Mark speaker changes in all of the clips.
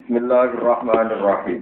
Speaker 1: Bismillahirrahmanirrahim.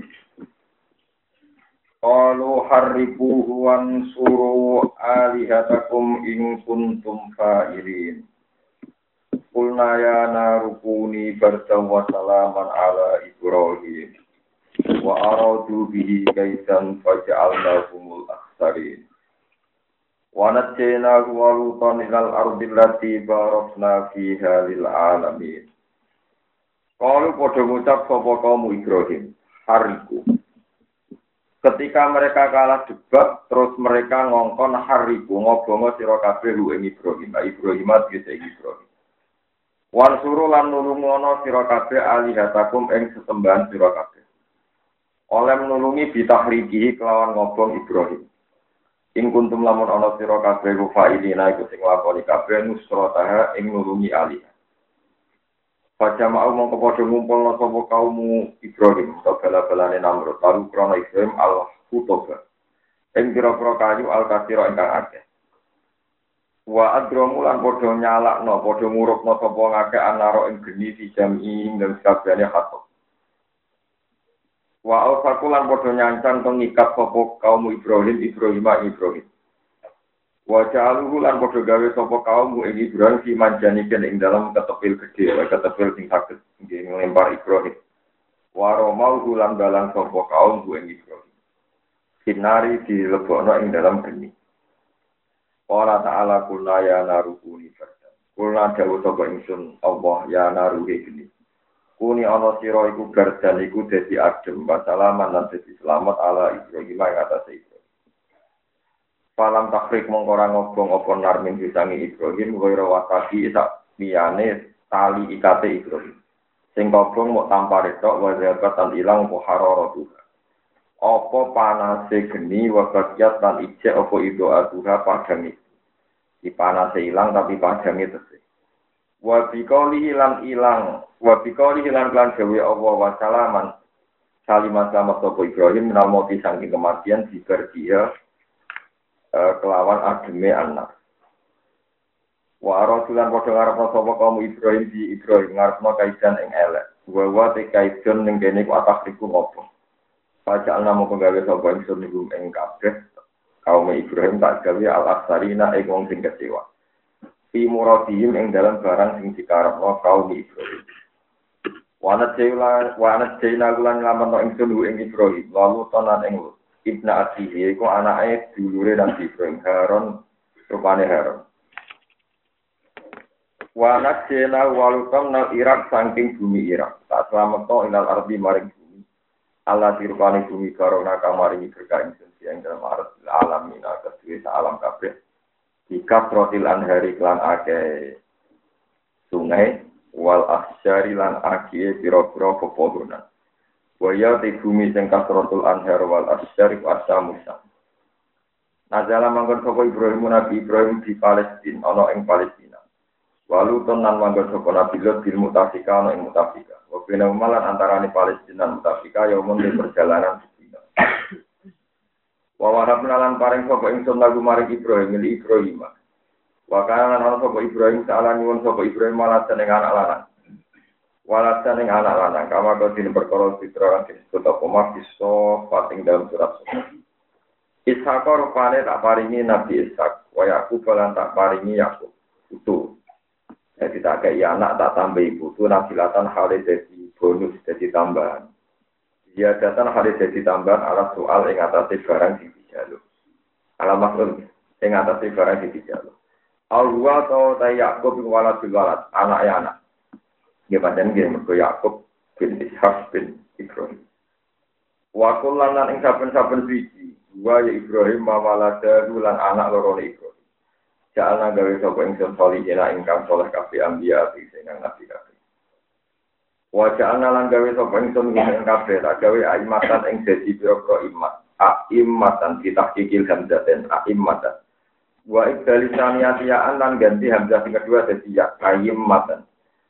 Speaker 1: Qalu harriquhu wansuru alihatakum in kuntum fa'ilin. Qulna ya narukuni bardan wa salaman ala Ibrahim. Wa aradu bihi kaitan faja'alnahumul akhsarin. Wa najjaynahu wa lutan ilal ardi allati barakna fiha lil alamin. Kalau pada ngucap sapa kaum Ibrahim, hariku. Ketika mereka kalah debat, terus mereka ngongkon hariku, ngobongo sira kabeh ing Ibrahim, Ibrahim tegese Ibrahim. Wan suru lan nulungono sira kabeh alihatakum ing sesembahan sira kabeh. Oleh nulungi bitahrikihi kelawan ngobong Ibrahim. Ing kuntum lamun ana sira kabeh fa'ilina iku sing lakoni kabeh nusrataha ing nulungi alih. Pada mau mongko padha ngumpulna sapa kaum Ibrahim utawa bala-balane Namrud lalu krana Ibrahim al-Hutoba ing pira-pira kayu al-kasira ingkang akeh wa adramu lan padha nyalakno padha murukna sapa ngakeh anaro ing geni di jami ing sakabehane khatop wa al-fakulan padha nyancang pengikat sapa kaum Ibrahim Waja'aluhu lan padha gawe sapa kaum ing Ibrahim fi manjaniken ing dalam ketepil gedhe, ketepil sing saged nggih nglempar Ibrahim. Wa romau lan dalan sapa kaum ing Ibrahim. Sinari dilebokno ing dalam geni. Ora ta'ala kula ya narukuni fardan. Kula dawuh sapa ingsun Allah ya naruhi geni. Kuni ana sira iku gardan iku dadi adem wa salaman lan dadi selamat ala Ibrahim ing atase Ibrahim. Falam takrik mongkora ngobong apa narmin disangi Ibrahim ghairu wasaki sak liyane tali ikate Ibrahim. Sing kobong mok tampare tok wa zabatan ilang apa hararatu. Apa panase geni wa bakyat lan ijek apa ido aduha padang iki. Di panase ilang tapi padange tesih. Wa biqali ilang lan gawe Allah wa salaman. Salimat selamat sapa Ibrahim namoti saking kematian diberdia kelawan ademe anak. Wa rasulan padha ngarepno sapa kaum Ibrahim di Ibrahim ngarepno kaidan ing elek. Wa te kaidan ning kene ku atakriku ngopo. Pajak namo penggawe sapa ingsun niku ing kabeh kaum Ibrahim tak gawe al-aksarina ing wong sing kecewa. Fi muradihim ing dalam barang sing dikarepno kaum Ibrahim. Wa anajayna lan lamun ingsun ing Ibrahim lalu tonan ing Ibna Asihi iku anake dulure Nabi Ibrahim Harun rupane Harun. Wa nakjena walutam nal Irak saking bumi Irak. Tak slametno ilal ardi maring bumi. Allah dirupane bumi karona kamaring berkah ingsun sing dalam alamin kedue alam kabeh. Dikasrotil anhari klan akeh sungai wal ahsyari lan akeh pira-pira pepohonan. Waya di bumi sing kasratul anhar wal asyarif asamusa. Nazala manggon sapa Ibrahim Nabi Ibrahim di Palestina ana ing Palestina. Walu tenan manggon sapa Nabi Lot di Mutafika ana ing Mutafika. Wa bena malan antarané Palestina lan Mutafika ya mung perjalanan dina. Wa warabna lan paring sapa ingsun lagu maring Ibrahim li Ibrahim. Wa kana ana sapa Ibrahim saala nyuwun sapa Ibrahim malah seneng anak lanang. Walatan yang anak lanang, kama kau tidak berkorol fitra yang disebut apa mafiso pating dalam surat surat. Ishak rupane tak paringi Nabi Ishak, wa Yakub lan tak paringi Yakub. Itu, jadi tak kayak anak tak tambah ibu itu nabilatan hari jadi bonus jadi tambahan. Dia datang hari jadi tambahan ala soal yang atasnya barang di dijaluk. Ala maksud yang atasnya barang di dijaluk. Al-Huwa atau tay Yakub walad bilwalad, anaknya anak. Ya pancen nggih mergo Yakub bin Ishak bin Ibrahim. Wa kullanan ing saben-saben siji, wa ya Ibrahim mawalada lan anak loro Ibrahim. Jalna gawe sapa ingsun salihina ingkang saleh kabeh anbiya sing nabi kabeh. Wa jalna lan gawe sapa ingsun ing kabeh tak gawe aimatan ing dadi pira-pira imat. Aimatan ditahqiqil hamzaten aimatan. Wa ibdalisaniyatin lan ganti hamzah sing kedua dadi ya aimatan.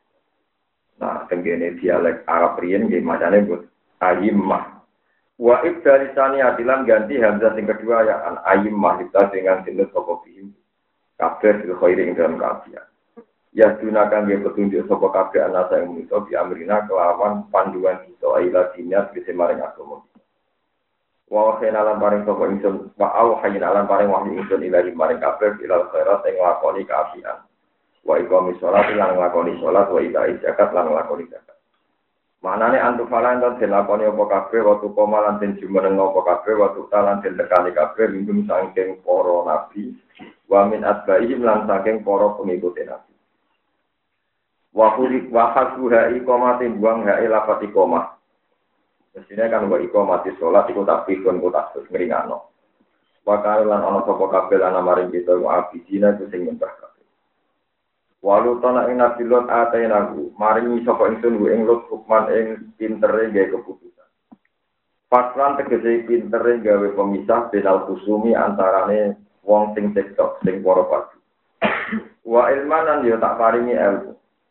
Speaker 1: Nah, tenggene dialek Arab riyen nggih macane but ayimmah. Wa ibdarisani atilan ganti hamzah sing kedua ya an ayimmah kita dengan sinut sapa bihim. Kabeh fil khairi ing dalam kaafian. Ya gunakan dia petunjuk sapa kabeh ana ing manusa bi amrina kelawan panduan kita ila dinya bisa maring agama. Wa khayna lan paring sapa ingsun wa au hayna lan paring wahyu ingsun ila maring kabeh ila khairat ing lakoni kaapian. Wa iqami shalat lan lakoni salat wa ida zakat lan lakoni zakat. Manane antu falan lan dilakoni apa kabeh waktu koma lan den jumeneng apa kabeh waktu talan den tekani kabeh minggum saking para nabi wa min atbaihim lan saking para pengikut nabi. Wa khuliq wa hasbuha iqamatin buang ha lafat iqamah. Mestine kan wa iqamati salat iku tak pikun kok tak ngringano. Wa lan ana sapa kabeh lan maring kita wa abidina ku sing nyembah kabeh. Walu tanah ing nabi lot atainahu maringi sapa ingsun ing lot hukman ing pintere gawe keputusan. Fatran tegese pintere gawe pemisah benal kusumi antarane wong sing cekcok sing para padu. Wa ilmanan yo tak paringi ilmu.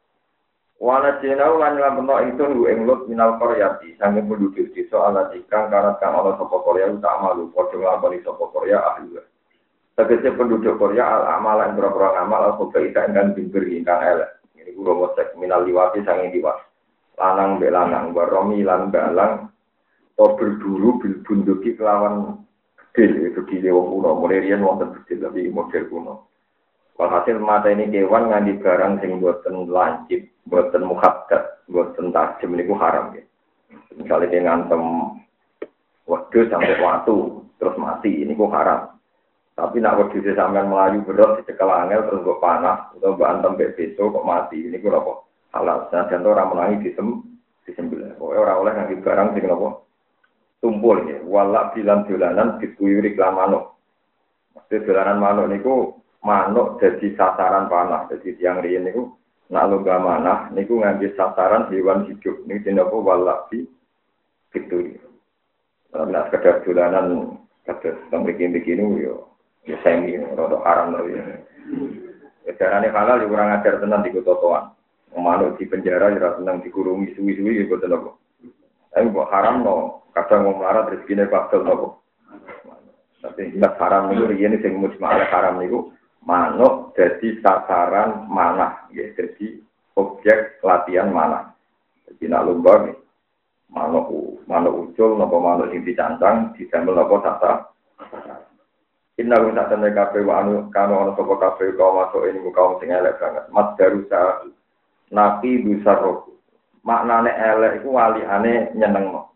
Speaker 1: Wana jenau lan lampeno ingsun ing lut minal qaryati sange penduduk desa ala ikang karat kang ana sapa Korea tak malu padha nglakoni sapa Korea ahli. Tegese penduduk Korea al amal lan boro-boro amal al kebaikan ingkang bimbir ingkang elek. Ini kula mosek minal liwati sange liwat. Lanang mbek lanang baromi lan balang to berburu bil bunduki kelawan gedhe gedhe wong kuno mulai riyen wonten gedhe tapi model kuno. Walhasil mata ini kewan nganti barang sing boten lancip, boten muhaddat, boten tajam niku haram ya. Misalnya dia ngantem wedhus sampai watu terus mati niku haram. Tapi nak wedhus sampean melayu berat dicekel angel terus kok panas utawa mbok antem mbek beso kok mati niku napa halal. Sajen ora menangi disembelih. Pokoke ora oleh nganti barang sing napa tumpul ya. Wala bilan dolanan dituyuri klan manuk. Mesti dolanan manuk niku manuk jadi sasaran panah. Jadi tiang riyen niku nak lomba manah niku ngambil sasaran hewan hidup. Niki napa walabi gitu. Nak sekedar dolanan kados mriki-mriki yo ya semi rada haram lho ya. Carane halal yo kurang ajar tenan di kotoan. Manuk di penjara ora tenang dikurungi suwi-suwi yo boten apa. Tapi kok haram no kadang wong larat rezekine bakal nopo. Tapi tidak haram niku riyen sing mujma'al haram niku manuk jadi sasaran manah, ya, jadi objek latihan manah. Jadi nak lomba nih, manuk ucul, nopo manuk sing dicancang, didamel nopo sasa. Inna guna tanda kafe wa anu kanu anu sopo kafe kau masuk ini kaum sing elek banget. Mas darusa nabi besar roh. Maknane elek iku waliane nyenengno.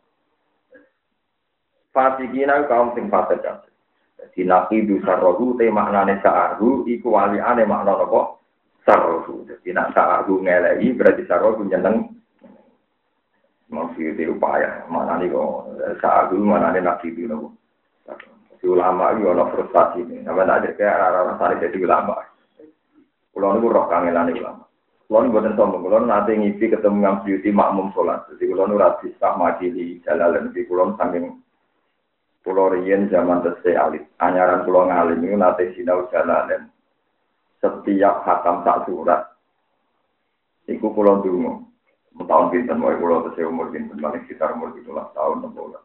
Speaker 1: Fasikina kaum sing fasik. Jadi nabi dusarrohu te maknane sa'arhu iku waliane makna apa? Sarrohu. Jadi nak sa'arhu ngelei berarti sarrohu nyeneng. Maksudnya upaya. Maknane kok sa'arhu maknane nabi itu apa? Jadi ulama itu ada frustasi ini. Nama tak ada kayak rara-rara jadi ulama. Pulau itu roh kangelan ulama. Pulau ini buatan sombong. Pulau nanti ngipi ketemu dengan beauty makmum sholat. Jadi pulau itu radis tak majili jalalan. Jadi pulau saking pulau riyen zaman tesih alit, anyaran pulau ngalim itu nate sinau jalanan. Setiap khatam sak surat, iku pulau dungo. Tahun pinten wae pulau tesih umur pinten, paling sekitar umur 17 tahun 16.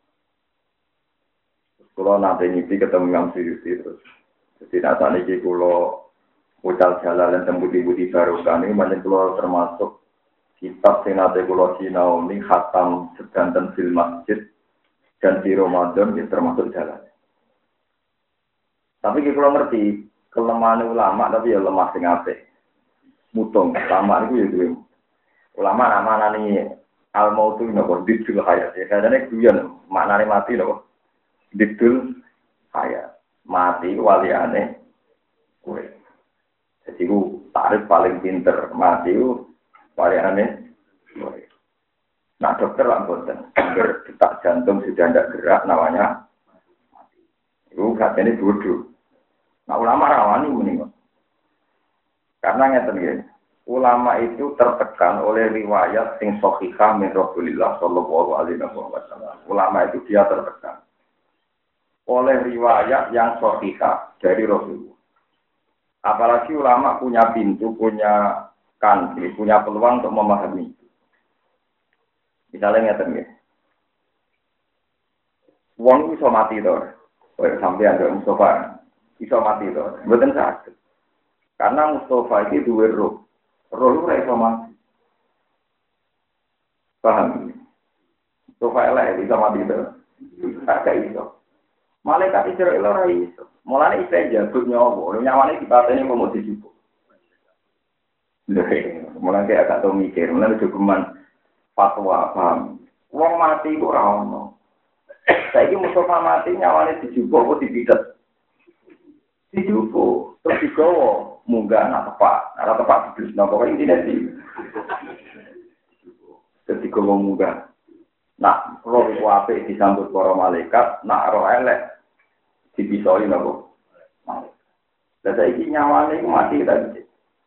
Speaker 1: Pulau nate nyipi ketemu Imam Suyuti terus. Jadi nata niki pulau ucal jalanan tembuti-buti barokah ini banyak pulau termasuk kitab sing nate pulau sinau ini khatam sedanten fil masjid. Dan di Ramadan itu termasuk jalan. Tapi kalau ngerti kelemahan ulama tapi ya lemah sing apik. Mutung ulama itu ya duwe. Ulama namane al-mautu napa didul hayat. Ya kadane guyon maknane mati napa. Didul hayat. Mati waliane kowe. Jadi ku tarif paling pinter mati ku waliane kowe. Nah dokter lah boten, detak jantung sudah tidak gerak, namanya mati. Itu katanya bodoh. Nah ulama rawani meninggal. Karena ngeten nggih, ulama itu tertekan oleh riwayat sing sahihah min Rasulillah sallallahu alaihi wasallam. Ulama itu dia tertekan oleh riwayat yang sahihah dari Rasulullah. Apalagi ulama punya pintu, punya kanti, punya peluang untuk memahami. Misalnya ngeten nggih. Wong iso mati to. Kaya sampeyan karo Mustafa iso mati to. Mboten saged. Karena Mustafa iki duwe roh. Roh ora iso mati. Paham? Sofa elek bisa mati itu. Agak iso. Malaikat Israel ora iso. Mulane isih jabut nyawa, nyawane dipateni kok mau dijupuk. Lha, mulane agak tau mikir, mulane jogeman fatwa paham. Wong mati kok ora ono. Saiki Mustafa mati nyawane dijupuk kok dipitet. Dijupuk, terus digowo, munggah nak tepak diblis napa kok intine di. Terus digowo munggah. Nak roh iku apik disambut para malaikat, nak roh elek dipisoi napa. Lah saiki nyawane iku mati tadi.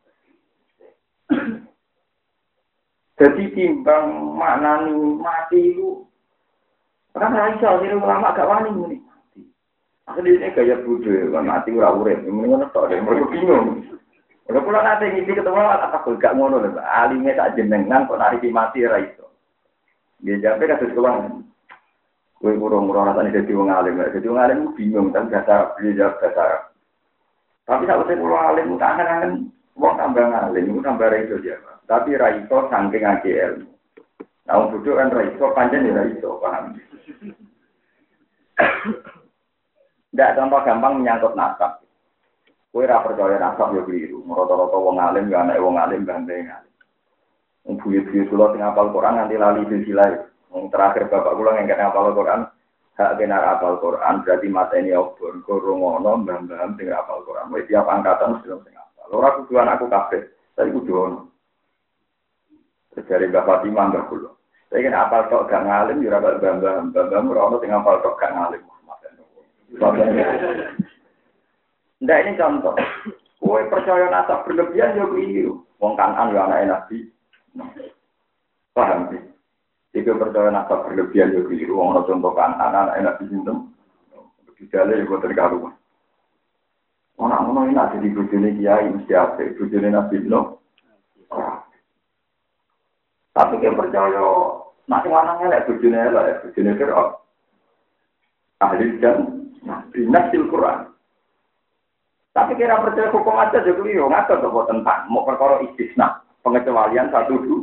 Speaker 1: Jadi timbang maknani mati itu orang raisa jadi ulama gak wani ini. Akhirnya gaya budaya kan mati ora urip, mendingan tok deh mereka bingung. Kalau pulang nanti ngisi ketemu apa gak ngono lho, alime sak jenengan kok nariki mati ra iso. Dia jape kados keluang. Kowe urung-urung rasane dadi wong alim, dadi wong alim bingung kan bahasa dia jawab bahasa. Tapi sak wis wong alim kangen-kangen wong tambah alim, iku tambah ra iso jawab. Tapi ra iso saking AGL. Nah, bodoh kan ra iso pancen ya ra iso, paham. Ndak contoh gampang menyangkut nasab. Kowe ora percaya nasab yo keliru. Rata-rata wong alim ya anak wong alim bandengan. Wong buyut-buyut kula sing hafal Quran nganti lali silsilah. Wong terakhir bapak kula ngene hafal Quran, hak benar hafal Quran berarti mateni obor kurung ono mbah-mbah sing hafal Quran. Wis tiap angkatan mesti sing hafal. Ora kudu anakku kabeh, tapi kudu ono. Dari Mbak Fatimah Mbak Kulo. Saya kan hafal tok gak ngalim ya ora mbah-mbah ora ono sing hafal tok gak ngalim. Ndak ini contoh. Kowe percaya nasab berlebihan yo keliru. Wong Kanan yo anake Nabi. Paham sih? Jika percaya nasab berlebihan yo keliru. Wong ana contoh Kanan anake Nabi sinten? Dijale yo terkaruan. Ana ngono iki nek di bojone kiai mesti apik, bojone Nabi no. Tapi dia percaya nak sing lanang elek bojone elek, bojone Fir'aun. Ahli dan binasil Quran. Tapi kira percaya hukum aja juga yo ngatur to tentang mau perkara istisna, pengecualian satu dulu.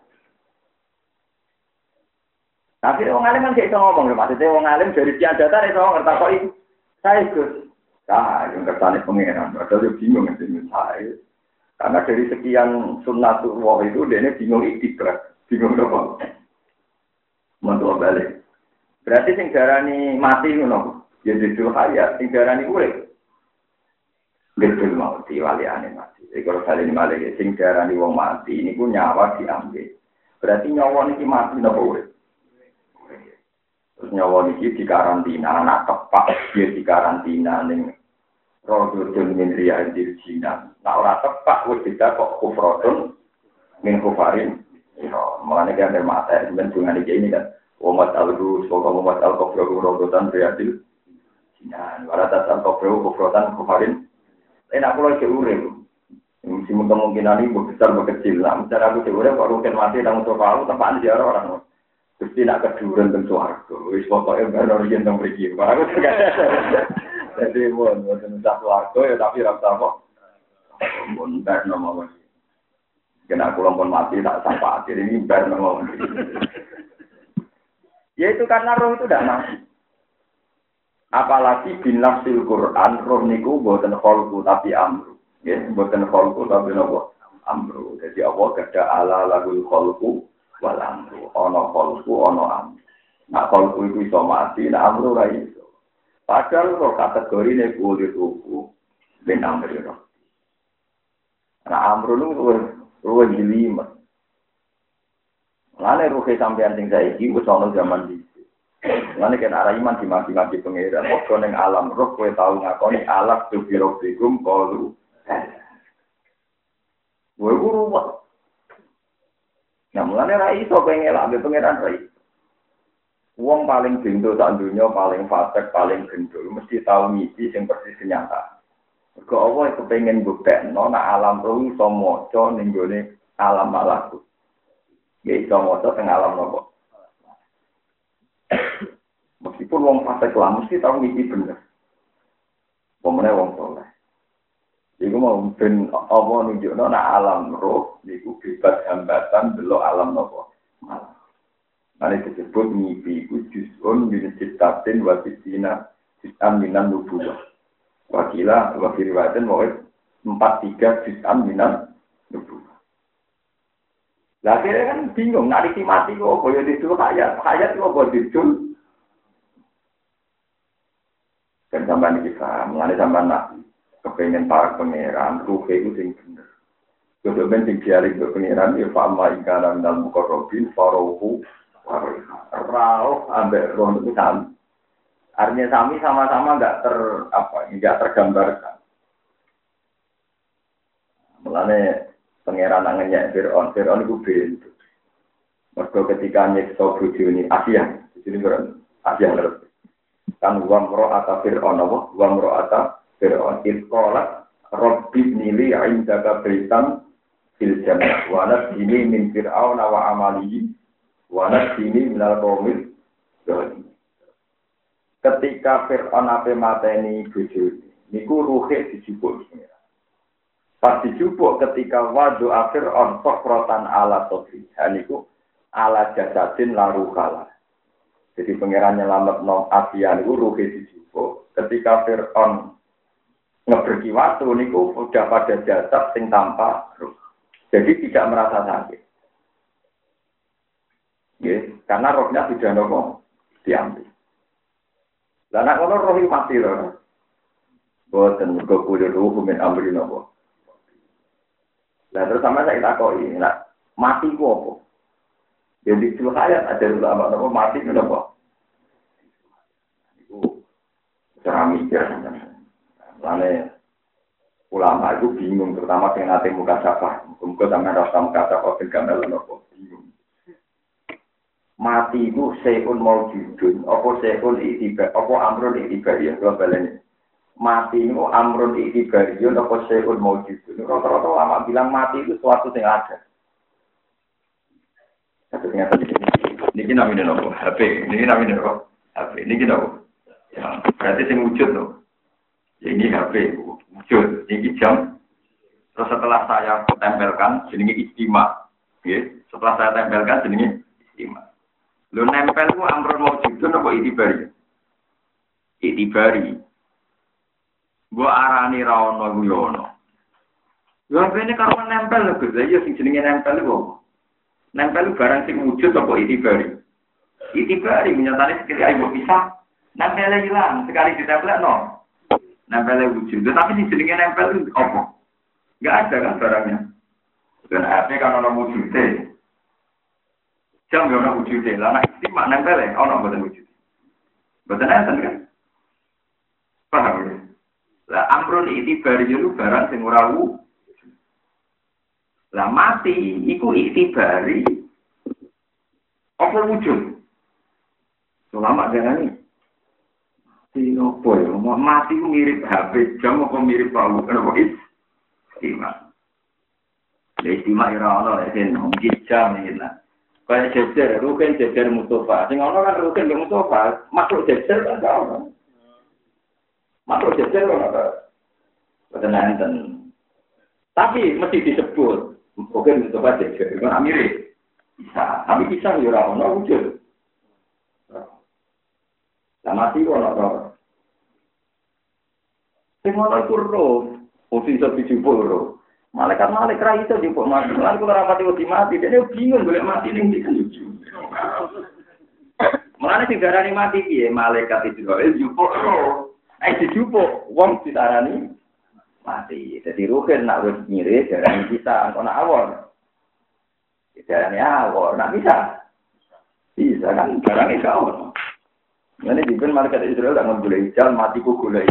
Speaker 1: Tapi wong alim kan gak iso ngomong lho, maksudnya wong alim dari sekian data iso ngertakok iki. Saya Gus. Nah, yang kertane pengenan, padahal bingung ngene saya. Karena dari sekian sunnatullah itu dia bingung iktidrak, bingung apa? Mantu balik. Berarti sing darani mati ngono. Ya duduk hayat, sing darani urip. Betul mau diwaliane mati. Jadi kalau kali ini malah sing darani wong mati ini pun nyawa diambil. Berarti nyawa niki mati napa urip? Terus nyawa niki dikarantina, anak tepak dia dikarantina ning Rodun min riyadil jinan. Nah ora tepak wis tidak kok kufrotun min kufarin. Ya, mulane kan mata ben dengan ini kan. Umat al-Rus, umat al-Kufru Rodun riyadil jinan. Wala tasal Kufru kufrotan kufarin. Enak kalau diurip, mesti kemungkinan ini besar berkecil. Nah, misalnya aku diurip, kalau mungkin mati, tanggung jawab aku tempat dia orang. Terus tidak keduren tentu aku. Wis pokoknya baru yang tentang pergi. Aku juga. Jadi pun, bukan satu harga ya, tapi rasa apa? Pun ber nama lagi. Kena aku lompon mati tak sampai akhir ini ber nama lagi. Ya itu karena roh itu tidak mati. Apalagi binafsil Quran roh niku boten kholku tapi amru. Ya, boten kholku tapi nopo amru. Jadi Allah kada ala lagul kholku wal amru. Ono kholku ono amru. Nah kholku itu iso mati, nah amru ra iso. Padahal roh kategori nek kulit ruku ben amru roh. Nah amru lu ruwe jelimet. Lane ruh sampean sing saiki wis ono zaman iki. Lan nek ana iman dimati-mati pengiran, kok ning alam roh kowe tau ngakoni alaq tu birofikum qalu. Kowe guru wae. Nah, mulane ra iso pengen elak pengiran ra iso. Wong paling bendo sak donya, paling fasik, paling gendul mesti tau ngisi sing persis kenyataan. Mergo Allah kepengin mbuktekno nek alam roh iso maca ning gone alam malakut. Ya iso maca teng alam nopo. Meskipun wong fasik lah mesti tahu ngisi bener. Pemene wong soleh. Iku mau ben apa nunjukno nek alam roh niku bebas hambatan delok alam napa. Mane disebut mimpi iku juz'un min citatin wa tisina juz'an minan nubuwah. Wakila wa fi riwayatin wa 43 juz'an minan nubuwah. Lah kira kan bingung nek iki mati kok koyo didul hayat kok kok didul. Kan sampean iki paham, ngene sampean nak kepengen para pangeran, ruhe itu sing bener. Kudu ben sing diaring ke pangeran ya fa'ama ikana minal muqarrabin farohu rauh ambek roh itu sama. Artinya sami sama-sama enggak tergambarkan. Mulane pangeran nangennya Fir'aun itu bentu. Mergo ketika nyekso bojone Asia, jadi Asia terus. Kan wa mra'ata Fir'aun wa mra'ata Fir'aun itqalat rabbi nili 'indaka baitan fil jannah wa nasini min fir'aun wa amalihi wa nasini minal qaumil zalim. Ketika Fir'aun ape mateni bojone niku ruhe dijupuk. Pas dijupuk ketika wadu Fir'aun sokratan ala sodri niku ala jasadin larukala. Jadi pangeran nyelamat nom Asia niku ruhe dijupuk. Ketika Fir'aun ngeberki waktu niku udah pada jasad sing tanpa ruh. Jadi tidak merasa sakit. Yes, karena rohnya sudah nopo diambil. Lah nek ono roh mati lho. Boten mergo kulo ruh men amri nopo. Lah terus sama saya takoki, nek mati ku apa? Jadi itu hayat ada ulama nopo mati ku nopo? Iku cara mikir. Lalu ulama itu bingung, terutama yang nanti muka sapa. Muka sama rasa muka sapa, gambar nopo bingung. Mati itu seun mau judun, apa seun itibar, apa amrun itibar ya, kalau balenya. Mati itu amrun itibar ya, apa seun mau judun. Rata-rata ulama bilang mati itu suatu yang ada. Satunya tadi ini namanya nopo HP, ini namanya nopo HP, ini nopo. Ya, berarti yang wujud nopo. Ini HP wujud, ini jam. Terus setelah saya tempelkan, jenenge istimewa. Setelah saya tempelkan, jenenge istimewa. Lu nempel ku amrun maujudun apa itibari? Itibari. Gua arani ra ono ku yo ono. Lha bene karo nempel lho, Gus. Ya sing jenenge nempel ku. Nempel barang sing wujud apa itibari? Itibari menyatane sekali ayo bisa. Nempel hilang, sekali ditempel no. Nempel wujud. Tapi sing jenenge nempel itu apa? Enggak ada kan barangnya. Dan HP kan ono wujudnya. Jam yo ono wujudnya. Lah nek istimewa nempel ono mboten wujud. Mboten enten kan? Paham ya? Lah amrun itibari itu barang sing ora wujud. Lah mati iku itibari apa wujud? Selama dengan ini opo ya, mati ku mirip HP jam apa mirip palu kenapa istimewa. Ya istimewa ora ono lek mungkin jam iki lah. Kayak jejer, rugen jejer Mustafa. Sing ono kan rugen mbek Mustafa, makhluk jejer kan ono. Makhluk jejer ono ta. Boten enten. Tapi mesti disebut rugen Mustafa jejer, kan mirip. Bisa, tapi bisa yo ora ono wujud. Lah mati kok ono. Sing ono iku roh, mesti iso dijupuk roh. Malaikat ra iso dijupuk mati. Lan kula ora pati wedi mati, dene bingung golek mati ning ndi kan lucu. Mulane sing darani mati piye? Malaikat Israil dijupuk roh. Dijupuk wong ditarani mati. Dadi ruhen nak wis nyire darani kita ana awon. Darani awon, nak bisa. Bisa kan barang iso ono. Ini dipun malaikat Israel tak ngegulai jalan matiku gulai.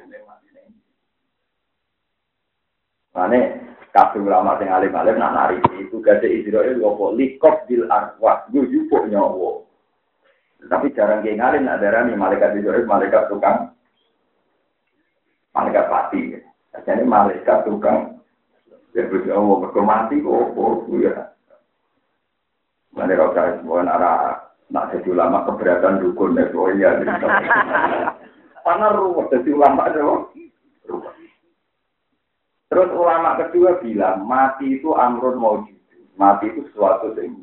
Speaker 1: Mane kabeh ulama sing alim-alim nak nari itu gade Israel opo likop bil arwah yo jupuk nyawa. Tapi jarang ge ngalim nak darani malaikat Israel malaikat tukang malaikat pati. Jadi malaikat tukang ya Allah berkomati opo ya. Mane ora kaya semua arah nak jadi ulama keberatan dukun ya. Karena ruwet jadi ulama itu.
Speaker 2: Terus ulama kedua bilang mati itu amrun maujud. Mati itu sesuatu yang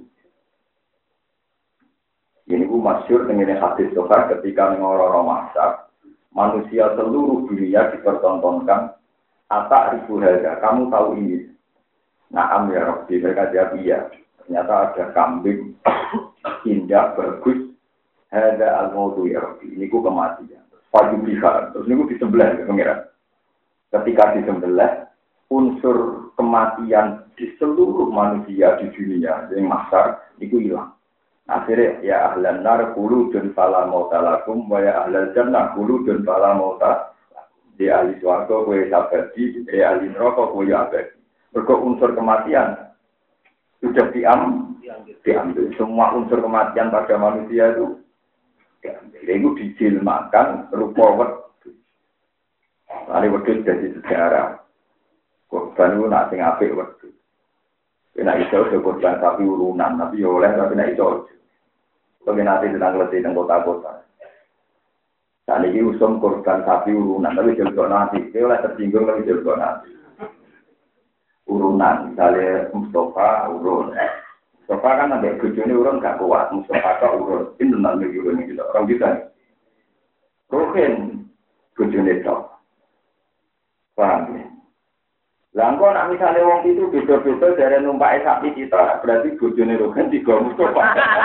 Speaker 2: ini ku masyhur dengan hadis Sofar ketika ngororo masak manusia seluruh dunia dipertontonkan atak ribu harga. Kamu tahu ini? Naam ya Rabbi, mereka jawab iya. Ternyata ada kambing indah bagus. Hada al-mautu ya Rabbi. Ini ku kematian. Pagi pihak. Terus ini ku disembelih ke pengiran. Ketika disembelih, unsur kematian di seluruh manusia di dunia yang masar itu hilang. Akhirnya ya ahlan nar khuludun fala mauta lakum wa ya ahlal jannah khuludun fala mauta di ahli swarga kowe abadi di ahli neraka kowe abadi. Mergo unsur kematian sudah diambil. Semua unsur kematian pada manusia itu diambil. Itu dijilmakan rupa wedhus. Lari wedhus jadi sejarah. Korban itu nak sing apik wedhus. Nek iso korban sapi urunan, tapi yo oleh tapi nek iso nanti tentang letih tentang kota-kota. Saat ini usum korban sapi urunan, tapi jelgo nanti. Dia oleh tersinggung tapi jelgo nanti. Urunan, misalnya Mustafa urun. Mustafa kan ada bujuni urun gak kuat. Mustafa kok urun. Ini tentang urun ini. Orang kita nih. Ruhin bujuni top. Paham ya? Langkau nak misalnya wong itu beda-beda dari numpak sapi kita, berarti bojone Rogen tiga Mustafa.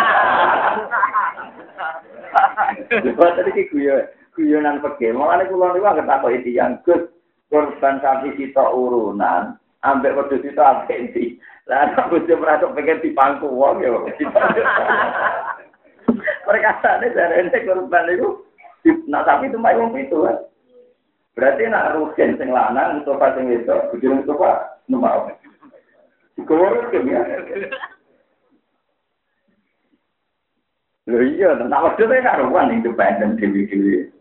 Speaker 2: Sebab tadi guyonan pege, makanya kula niku anggere takoki tiyang Gus, korban sapi kita urunan, ambek wedhus kita ambek ndi. Lah nek bojo merasuk pengen dipangku wong ya. Perkataane dari ente korban niku nak sapi tumpah wong itu kan. Berarti nak Rugen sing lanang Mustafa sing wedok, bojone Mustafa numpak. Digowo ke ya. Lho iya, tak waktu itu karuan independen dewi-dewi.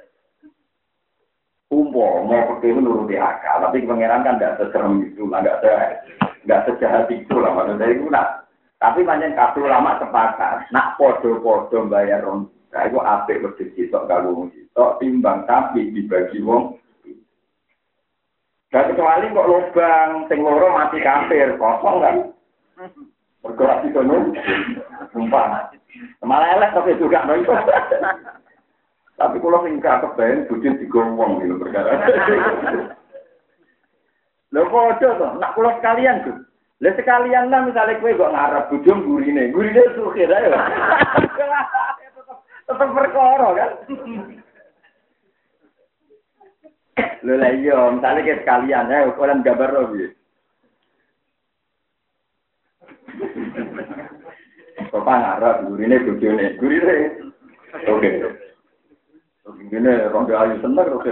Speaker 2: Mau pakai menuruti akal, tapi pangeran kan tidak seserem itu, nggak sejahat itu lah maksudnya itu nak. Tapi banyak kabel lama sepakat, nak podo-podo bayar ron. Nah, itu apik wedhus sitok karo wong sitok timbang tapi dibagi wong. Dan kecuali kok lubang sing loro mati kafir, kosong kan. Bergerak di kono. Sumpah. Malah elek tapi juga itu. Tapi kalau sing gak kebayang bujut digowong gitu perkara. Lho kok aja to, nak kula sekalian, Gus. Lah sekalian lah misalnya kowe kok ngarep bujum gurine sukir ae. Tetap perkara kan. Lho lah iya, misalnya kayak sekalian ya, ukuran gambar lo piye. Bapak ngarep gurine bojone, gurine. Oke. Gurine rondo ayu seneng oke.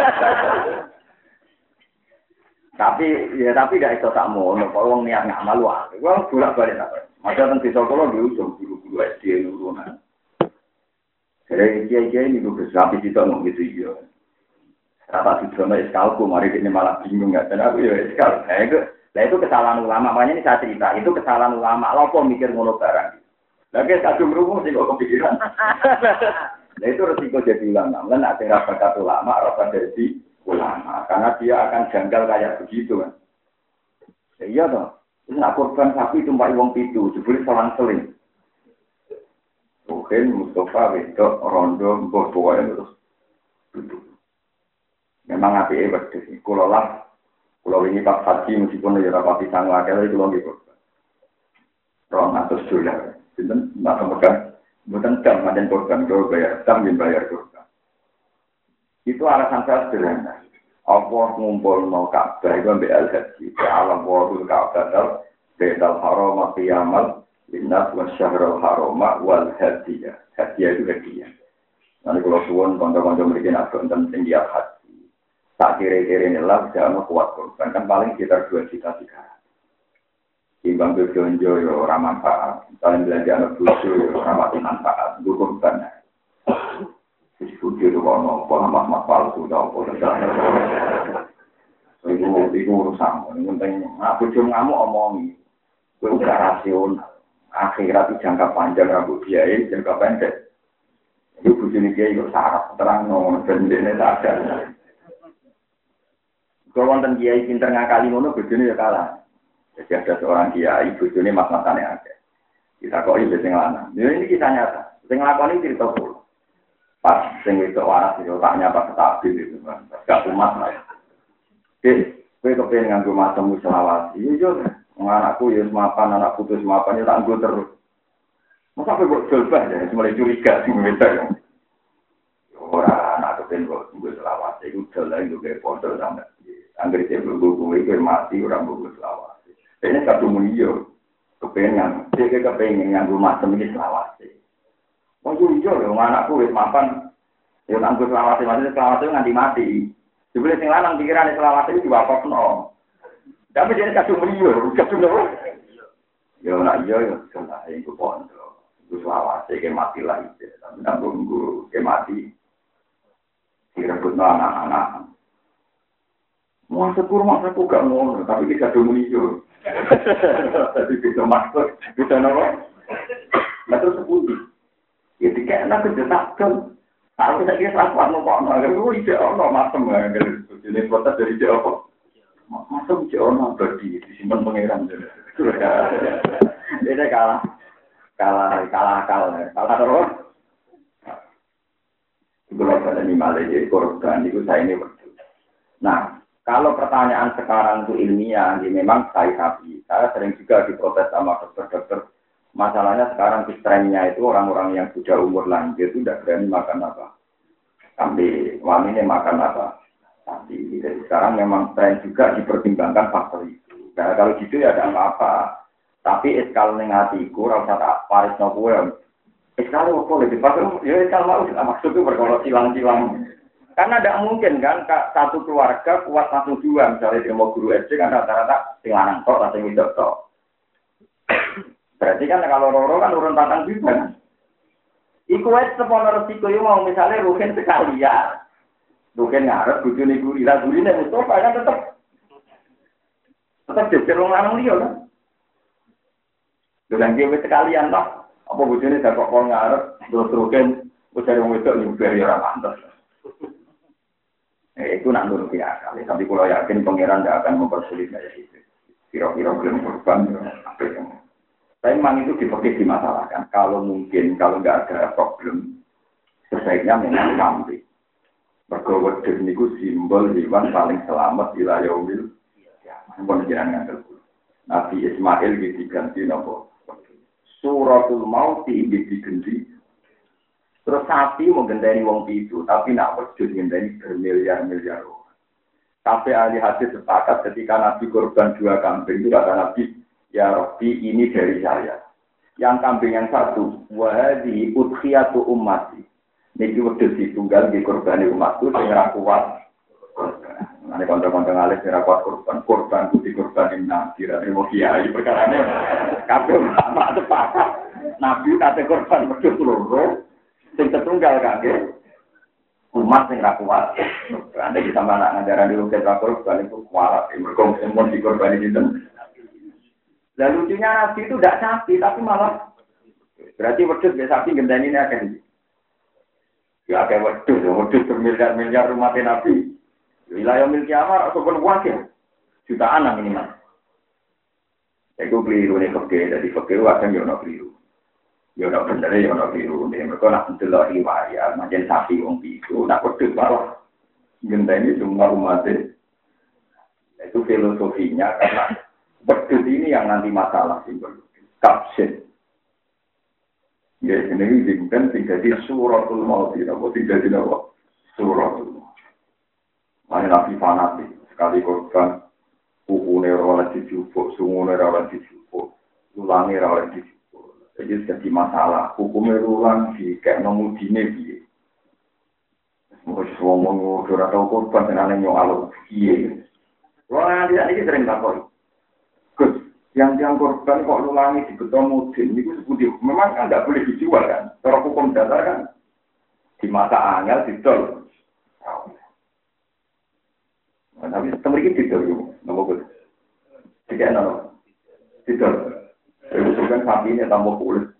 Speaker 2: Tapi gak iso tak mono, kok wong niat ngamal wae. Wong bolak-balik tak. Masa teng desa kula diusung guru-guru SD nurunan. Jadi kiai-kiai ini gue sapi itu ngomong gitu ya. Rata Sudono eskalku, mari ini malah bingung nggak? Dan aku ya eskal. Nah itu kesalahan ulama. Makanya ini saya cerita. Itu kesalahan ulama. Lopo mikir ngono barang. Lagi kadung rumus sih kok kepikiran. Nah itu resiko jadi ulama. Karena ada rasa ulama, rasa jadi ulama. Karena dia akan janggal kayak begitu kan. Ya, iya toh. Nak korban sapi itu mbak wong pitu, jebule selang-seling. Mungkin Mustafa wedok rondo mbok pokoke terus duduk. Memang apike wedhus iki kula lah. Kula wingi pas haji meskipun ya ora pati sangu akeh kula nggih kok. $200. Sinten nak megang mboten jam pancen korban kula bayar, jam bayar korban. Itu alasan saya sederhana. Allah ngumpul mau Ka'bah itu ambek al-haji. Alam wa'ul Ka'bah bedal haram qiyamal Innas wa syahrul haroma wal hadiyah. Hadiyah itu hadiah. Nanti kalau suwon konco-konco mereka nak tonton tinggi haji. Tak kira-kira inilah jangan kuat korban. Kan paling sekitar 2 juta 3. Timbang berjonjo ya orang manfaat. Misalnya belanja anak bucu ya orang mati manfaat. Itu korban. Bucu itu kalau mas palsu atau itu urusan. Yang penting bucu ngamuk omongi. Itu udah rasional. Akhirat itu jangka panjang rambut biaya, jangka pendek. Itu bujuni dia itu sarap, terang, dan ini tak ada. Kalau wonten kiai pinter ngakali ngono bojone ya kalah. Jadi ada seorang kiai bojone mas-masane akeh. Kita kok iki sing lanang. Ini kisah nyata. Sing nglakoni cerita kula. Pas sing wedok waras itu otaknya pas stabil itu kan. Gak umat lah. Kowe kepen nganggo macam selawat. Iya, anakku ya mapan, anak putus mapan ya tak nggo terus. Masa kok jolbah ya, mulai curiga sing wedok. Ora anak kepen kok nggo selawat. Iku dalan nggo foto sampe. Anggere dia berbuku itu mati orang buku selawat. Ini satu mulio kepengen, dia kepengen yang rumah semi selawat. Oh iya loh, anakku wis mapan, ya nanggur selawat itu nganti mati. Dibeli sing lanang pikiran selawat itu juga apa no. Tapi dia satu mulio, satu loh. Ya nak iya ya, sudah itu pondok, itu selawat itu mati lagi. Tapi nanggur ke mati, direbut anak-anak. Maksudku gak ngono, tapi kita domuni yo. Jadi kita maksud, kita nama. Nah terus sepundi. Ya dikena kejetakkan. Kalau kita kira rapat nombor, itu ide ono macam ini protes dari jauh. Macam jauh berarti disimpan pangeran. Ini kalah terus. Itu pada ini malah jadi korban itu saya ini berdua. Nah. Kalau pertanyaan sekarang itu ilmiah, ya memang saya sering juga diprotes sama dokter-dokter. Masalahnya sekarang trennya itu orang-orang yang sudah umur lanjut itu tidak berani makan apa. Kambing, wanita makan apa. Tapi jadi sekarang memang tren juga dipertimbangkan faktor itu. Nah, kalau gitu ya ada apa-apa. Tapi eskal negatiku, rasa tak paris nopo. Eskal apa lebih pasal? Ya eskal mau maksudnya berkolok silang-silang. Karena tidak mungkin kan satu keluarga kuat satu dua, misalnya dia mau guru SD kan rata-rata sing lanang tok atau sing wedok tok. Berarti kan kalau loro kan urun patang juga kan. Iku wis sepono resiko yo mau misalnya rugen sekalian. Rugen ngarep bojone guru, lah gurine Mustofa kan tetep jejer wong lanang liya kan. Dolan dhewe sekalian tok. Apa bojone dak kok ngarep terus rugen bojone wong wedok nyuber ora pantes. Itu nak nuruti akal. Tapi kalau yakin pangeran tidak akan mempersulit kayak itu. Kira-kira belum korban. Tapi memang itu dimasalahkan. Kalau mungkin, kalau nggak ada problem, sebaiknya memang kambing. Bergawat dengan itu simbol hewan paling selamat di layawil. Ya, mohon jangan nganggap. Nabi Ismail diganti nopo. Suratul Maut diganti. Terus sapi menggendani wong itu, tapi nak wujud menggendani bermiliar-miliar orang. Sampai ahli hadis sepakat ketika Nabi korban 2 kambing itu kata Nabi, ya Rabbi ini dari saya. Yang kambing yang satu, wahadi udhiyatu ummati. Niki wujud ditunggal di korban umatku dengan kuat. Nanti kontra-kontra alis dengan kuat korban putih korban Nabi dan ilmu kiai perkara ini. Kabel sama sepakat. Nabi kata korban wujud loro. Sing tertunggal kangge umat sing ra kuat. Anda kita mana ngajaran di ruket rakor balik kuat, mergo semua dikorban itu. Lalu lucunya Nabi itu tidak sapi tapi malah berarti wedhus ya sapi gendani ini akan. Ya kayak wedhus bermiliar-miliar umat Nabi. Wilayah milik Amar ataupun wakil jutaan lah minimal. Itu keliru nih fakir dari fakir akan yo keliru. Ya ora bener ya ora biru nek mergo nak ndelok riwayat macam sapi wong itu nak wedhus malah ngenteni semua umat itu filosofinya karena wedhus ini yang nanti masalah simbol kapsen ya ini dimpen jadi suratul maut apa tidak apa suratul maut mana nabi fanatik sekali korban kukune ora dijupuk sungune ora dijupuk ulange ora dijupuk. Jadi masalah hukumnya ulang di kayak nomudine biye. Mungkin ngomong ora tau korban senane nyoal piye. Wah dia ini sering takon. Gus, yang korban kok ulangi di beton mudin niku sepundi? Memang kan enggak boleh dijual kan. Cara hukum dasar kan di mata angel didol. Nah, tapi temriki didol yo. Napa Gus? Dikene didol. Itu kan sapinya tambah kulit.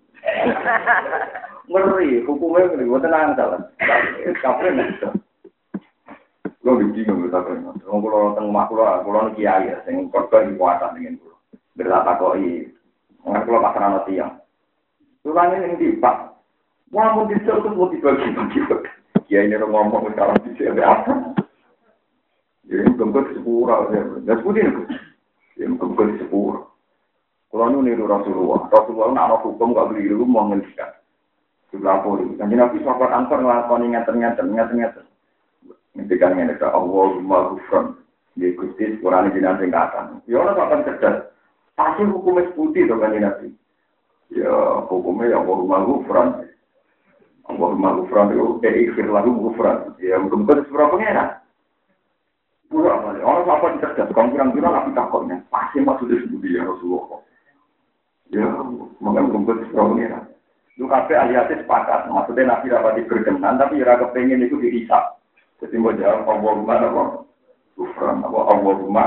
Speaker 2: Ngeri, hukumnya ngeri, gue tenang salah. Kapan itu? Kulo bingung ta kene. Wong kulo teng omah kulo kiai ya sing korban kuwatan dengan kulo. Bertakoki. Wong kulo pasrah tiyang. Tulane ning ndi, Pak? Wah, mau dicel tuh mau dibagi-bagi. Kiai ini ngomong sekarang di sini apa? Jadi mungkin sepura, ya seperti itu. Ya mungkin sepura. Kalau niru Rasulullah nak hukum gak beli dulu mau ngelihkan. Sebelah poli. Kan Nabi sahabat Ansor ngelakoni ngeten. Ngendikan ngene ka Allahumma ghufran. Dia Gusti Quran jenengan sing katan. Ya ora sampean cerdas. Pasti hukumnya putih to kan Nabi. Ya hukumnya ya Allahumma ghufran. Allahumma ghufran itu ikhfir lahu ghufran. Ya mungkin sepura pengenan. Pura balik. Orang apa cerdas. Kamu kira-kira nabi takutnya. Pasti maksudnya sebudi ya Rasulullah. Ya, mungkin sepura pengenan. Itu kabeh ahli-ahli sepakat. Maksudnya nabi dapat berkenan, tapi ya kepengen itu dihisap. Jadi mau jawab Allahumma apa? Ghufran apa Allahumma.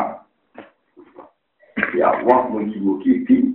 Speaker 2: Ya Allah mugi-mugi di.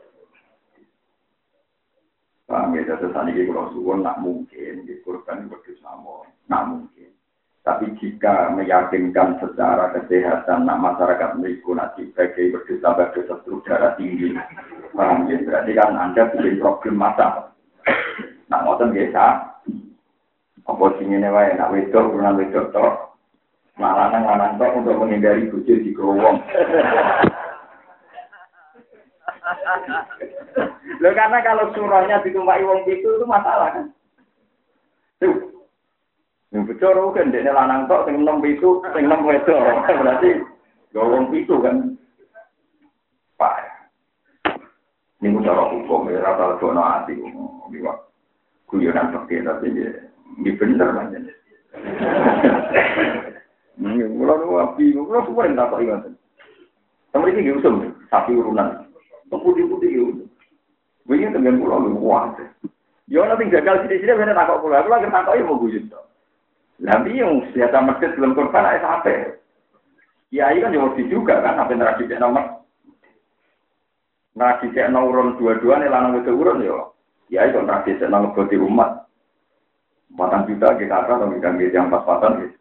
Speaker 2: Paham ya, saat ini kalau suwon nak mungkin dikurban berdosamo, nak mungkin. Tapi jika meyakinkan secara kesehatan, nak masyarakat mereka nanti sebagai berdosa struk darah tinggi, paham ya, berarti kan Anda bikin problem mata. Nak ngoten biasa, apa sini wae nak wedok, kurang wedok tok, lanang tok untuk menghindari bojo di growong. Loh karena kalau surahnya ditumpaki wong itu masalah kan. Tuh. Yang bocor kan dene lanang tok sing 6 itu, sing 6 wedok. Berarti wong itu kan. Pak. Niku cara hukum ya ora ono ati liwat. Guyonan pakai tapi ya bener pancen. Mula api, mula suwe ndak kok ingat. Sampai iki usum sapi urunan. Putih-putih itu. Begini dengan pulau lu kuat. Ya nanti gagal sini-sini bener takut pulau. Aku lagi takut ya mau guyut. Nanti yang senjata masjid belum korban ada sampai. Kiai kan jauh juga kan sampai neraki cek nomor. Neraki cek nomor dua-dua nih lanang itu urun ya. Kiai kan neraki cek nomor boti umat. 4 juta kita akan memberikan yang pas-pasan gitu.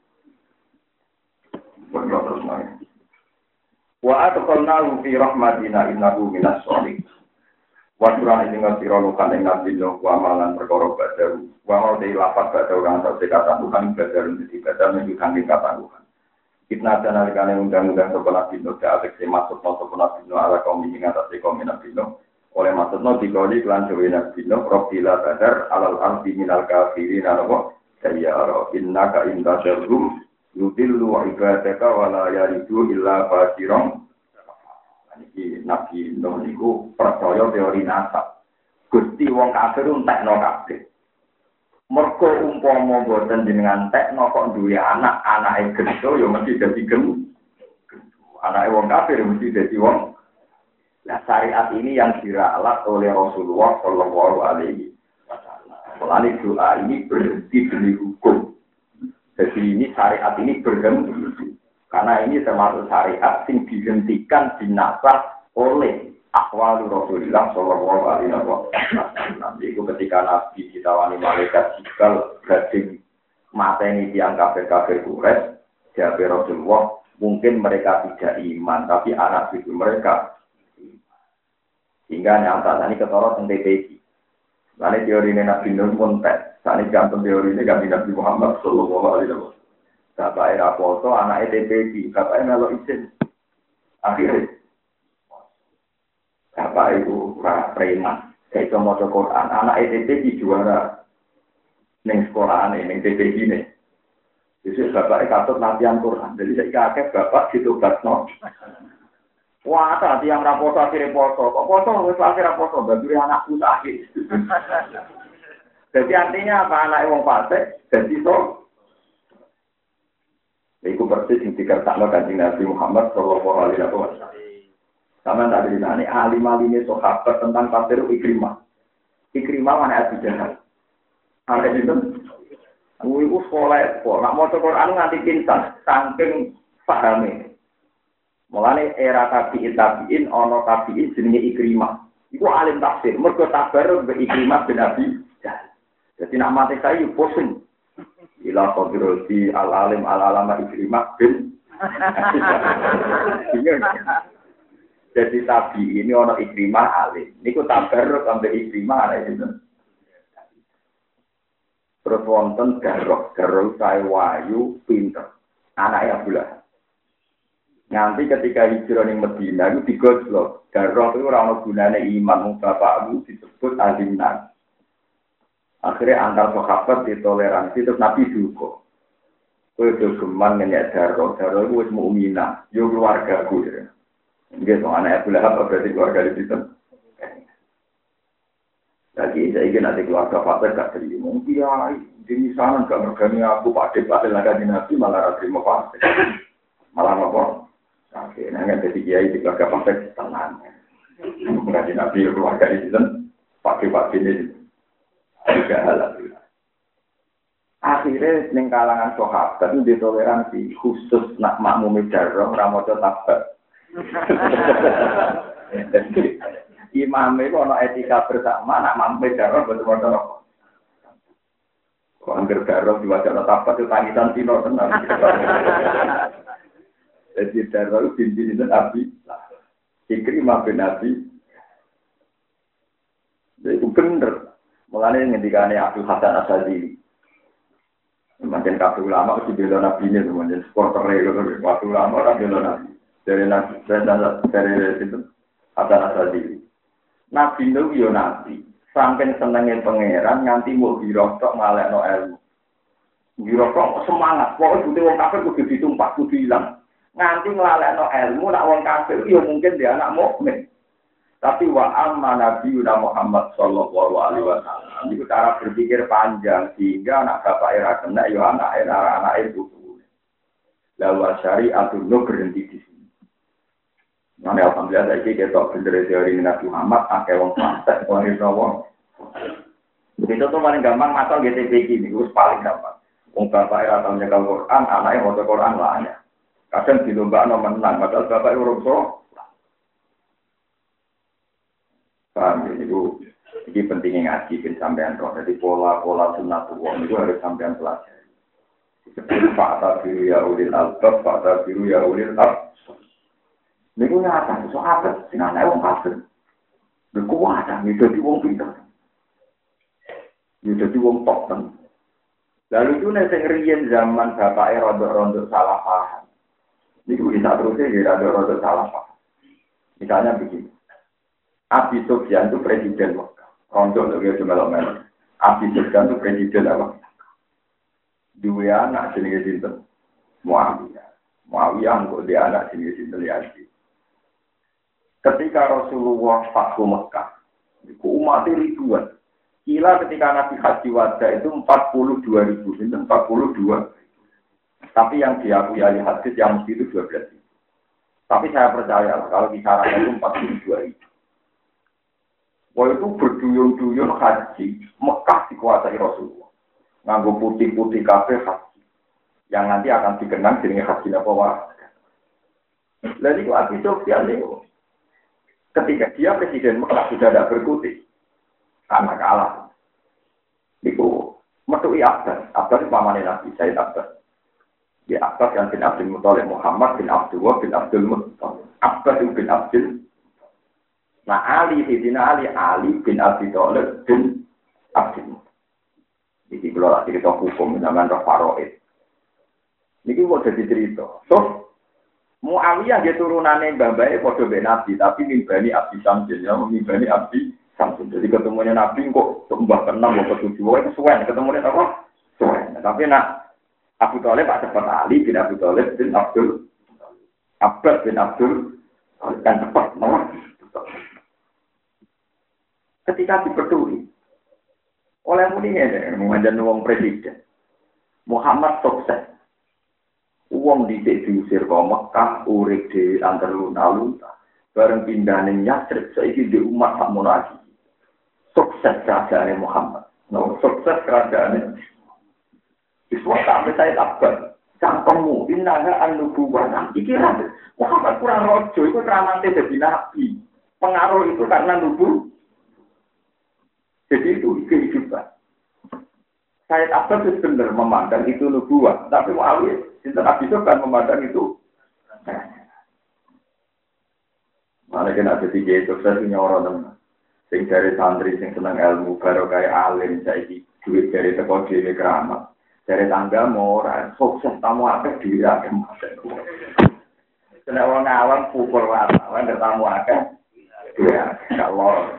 Speaker 2: Buat terus naik. Wa atqalnahu fi rahmatina innahu minas sholihin. Wa surah ing ngira lukan ing nabi no wa malan perkara badaru. Wa mau de lapat badaru kan sak kata Tuhan badaru dadi badaru menunjukkan kata Tuhan. Kita nalikane undang-undang sapa nabi no dalek masuk sapa nabi no ala kaum ing atase kaum nabi no. Oleh maksudno dikoni lan dewe nabi no profila badar alal ardi minal kafirin ana saya innaka intasyarhum yudillu ibadaka wala yaridu illa fasiron. Ini Nabi Nuh niku percaya teori nasab. Gusti wong kafir entekno kabeh. Mergo umpama boten jenengan entekno kok duwe anake gedhe ya mesti dadi gem. Anake wong kafir mesti dadi wong. Nah syariat ini yang diralat oleh Rasulullah Shallallahu Alaihi Wasallam. Soalnya doa ini berhenti demi hukum. Jadi ini syariat ini berhenti. Karena ini termasuk syariat yang dihentikan dinasah oleh akwal Rasulullah Shallallahu Alaihi Wasallam. Itu ketika Nabi ditawani malaikat Jibril gading mateni tiang kafir-kafir Quraisy, jawab Rasulullah, mungkin mereka tidak iman, tapi anak cucu mereka iman. Hingga nyata ini ketara teng TPI. Lalu teori Nabi Nuh pun tes. Saat ini gantung teori ini ganti Nabi Muhammad Shallallahu Alaihi Wasallam. Bapak era foto, anak ETPG, bapak melo izin. Akhirnya, bapak itu preman. Saya cuma mau Quran, anak ETPG juara. Neng sekolahan ini, neng TPG ini. Jadi bapak katut latihan Quran. Jadi saya kakek bapak ditobat no. Wah, tadi yang raposo akhirnya foto. Kok foto? Wes akhirnya foto. Bagi anakku sakit. Jadi artinya apa anak wong fasik? Jadi so. Iku persis yang dikertakno Kanjeng Nabi Muhammad Shallallahu Alaihi Wasallam. Sama tadi ini alim-alimnya sahabat tentang tafsir Ikrimah. Ikrimah mana Abu Jahal? Ada itu. Iku sekolah, nak mau Quran nganti pintar, saking pahami. Mulane era tabiin, ono tabiin jenenge Ikrimah. Iku alim tafsir. Mergo tabar be Ikrimah bin Abi Jahal. Jadi nak mati saya pusing. ila qadrati al-alim al-alama Ikrimah bin jadi tabi ini ono Ikrimah alim. Niku tabarruk sampai Ikrimah ana itu. Terus wonten Garok sae wayu pinter. Anake Abdullah. Nanti ketika hijrah ning Madinah itu digojlok. Garok itu ora ono gunane iman bapakmu disebut alimnan. Akhirnya antar sahabat ditoleransi terus Nabi duka. Kowe do geman ngenyek Garok itu wis mukminah, yo keluargaku ya. Nggih, soal anak Abu Lahab berarti keluarga di situ. Lagi saya ingin nanti keluarga Fatih gak terima. Iya, di sana gak mergani aku Pak Dek lagi di Nabi malah terima Fatih. Malah apa? Oke, nanya jadi kiai di keluarga Fatih tenang. Enggak di Nabi keluarga di situ. Pak Dek ini juga halal. Akhirnya ning kalangan sahabat itu ditoleransi khusus nak makmum darah ramoco tabat. Imam itu ada etika bersama, nak mampu darah betul-betul. Kalau angker darah di wajah tabat itu tangisan tino tenang. Jadi darah itu binti itu Nabi. Ikrimah bin Nabi. Itu benar. Mulanya ngendikane Abdul Hasan Asyadzili. Makin kabeh ulama mesti bela Nabi ini, teman-teman. Supporter itu, waktu ulama orang bela Nabi. Dari itu ada rasa diri. Nabi itu ya Nabi. Sampai senengin pangeran nganti mau birokok ngalek no ilmu. Birokok semangat. Pokoknya butuh wong kafir kudu ditumpah kudu hilang. Nganti ngalek no ilmu nak wong kafir ya mungkin dia anak mukmin. Tapi wa amma Nabi Muhammad sallallahu alaihi wasallam itu cara berpikir panjang sehingga anak bapak era kena ya anak itu. Lalu syariatul no berhenti di sini. Nah, alhamdulillah saya kita bener teori Nabi Muhammad, akeh wong praktek, wong wong. Begitu tuh paling gampang masal GTP ini, itu paling gampang. Wong bapak era tahu nyekel Quran, anaknya mau Quran lah. Kadang di lomba menang, padahal bapak urung so. Paham ya, ini pentingnya ngaji bin sampean roh. Jadi pola-pola sunnatullah itu harus sampean pelajari. Seperti fakta biru ya ulil albab, fakta biru ya ulil albab. Ini nyata, so apa? Dengan wong kafir. Berkuasa, ini jadi wong pintar. Ini jadi wong top. Lalu itu nanti ngerian zaman bapak rodok-rodok salah paham. Ini bisa terusnya ya rodok-rodok salah paham. Misalnya begini. Abi Sufyan itu presiden Mekah. Rondo itu melok-melok. Abi Sufyan itu presiden apa? Dua anak jenis sinten. Muawiyah kok dia anak jenis sinten Yazid. Ketika Rasulullah Fathu Mekah, umat ribuan. Kila ketika Nabi Haji Wada itu 42.000, 42. Tapi yang diakui ahli hadis yang mesti itu 12.000. Tapi saya percaya kalau kisarannya itu 42.000. Wah itu berduyun-duyun haji, Mekah dikuasai Rasulullah. Nganggo putih-putih kafe haji. Yang nanti akan dikenang dengan haji apa? Lalu itu Abi Sufyan itu. Ketika dia presiden Mekah sudah tidak berkutik karena kalah. Itu metui Abbas itu pamannya Nabi Sayyid Abbas. Di Abbas yang bin Abdul Muthalib Muhammad bin Abdullah bin Abdul Muthalib. Abbas itu bin Abdul. Nah Ali bin Abi Thalib bin Abdul. Ini kalau cerita hukum namanya Faroid. Ini kok jadi cerita. So Muawiyah dia turunannya mbak-mbaknya pada Nabi, tapi mimbani Abdi Samsin, ya, mimbani Abdi Samsin. Jadi ketemunya Nabi kok mbak ke-6, mbak ke-7, itu suwen, ketemunya apa? Suwen. Tapi nak Abu Thalib Pak cepat Ali bin Abu Thalib bin Abdul Abbas bin Abdul kan cepat, no? Ketika dipetuli oleh mulinya, mengajar wong presiden, Muhammad sukses. Uang didik diusir ke Mekah, urip di antar lunta-lunta. Bareng pindah ning Yatsrib, saiki di umat sakmono lagi. Sukses kerajaan Muhammad. No, sukses kerajaan. Iswa sampai saya takut. Cangkemmu, innaha an-nubuwah. Iki lah, Muhammad kurang rojo, itu keramante jadi nabi. Pengaruh itu karena nubuwah. Jadi itu kehidupan. Said Abbas itu benar memandang itu nubuah, tapi Muawiyah Sinten Abi Sufyan memandang itu. Mana kena jadi kiai sukses nyoro teman. Sing dari santri sing seneng ilmu baru kayak alim saiki duit dari teko dhewe keramat. Dari tangga mau ora sukses tamu akeh dhewe akeh maten. Kena wong awam pukul wartawan tamu akeh. Ya, kalau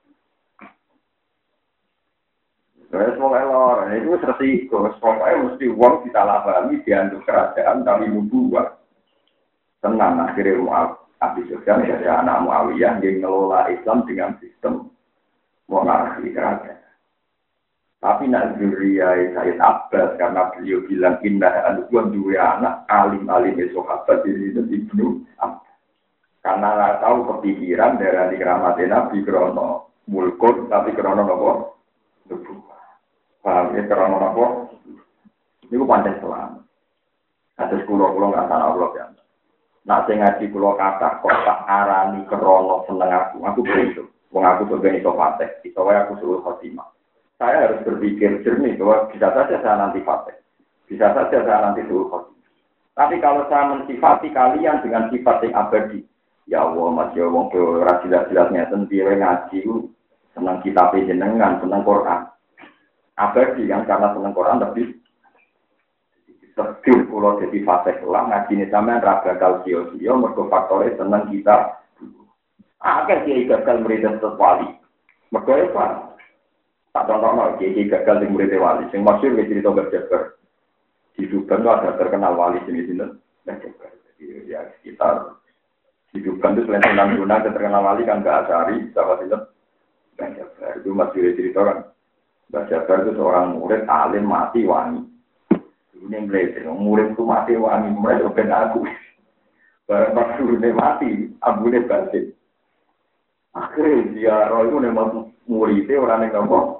Speaker 2: terus mau lor, itu resiko. Pokoknya mesti uang disalahpahami dianggap kerajaan tapi nubuah. Tenang akhirnya Abi Sufyan dari anak Muawiyah yang ngelola Islam dengan sistem monarki kerajaan. Tapi nak zuriyah Said Abbas karena beliau bilang indah anubuan dua anak alim-alim sahabat jadi Ibnu Abbas. Karena nggak tahu kepikiran dari keramat Nabi krono mulkun tapi krono nopo nubuah. Paham ya krono nopo? Ini panjang selama. Atas kulo nggak tahu Allah ya. Nak sing ngaji kula kata kok tak arani krono seneng aku begitu. Wong aku sebagai iso fase, iso wae aku suruh khotimah. Saya harus berpikir jernih bahwa bisa saja saya nanti fase. Bisa saja saya nanti suruh khotimah. Tapi kalau saya mensifati kalian dengan sifat yang abadi, ya Allah masih wong ora jelas-jelasnya sendiri ngaji seneng kitab jenengan, seneng Quran. Abadi yang karena seneng Quran lebih sedih kalau jadi fase kelam ngaji ini sampean ra bakal sia-sia mergo faktore seneng kita. Akeh kiai gagal murid wali. Mergo apa? Tak contohno kiai gagal sing murid wali sing masyhur wis cerita berjabar. Di Subang ada terkenal wali sini-sini. Jadi ya sekitar hidupkan itu selain Sunan Gunung terkenal wali kan Mbak Asari, sahabat itu Mbak Jabar itu masih cerita kan Mbak Jabar itu seorang murid alim mati wani ini yang murid itu mati wani mulai open aku barang pas gurunya mati abunya batin akhirnya dia roh itu memang muridnya orang yang ngomong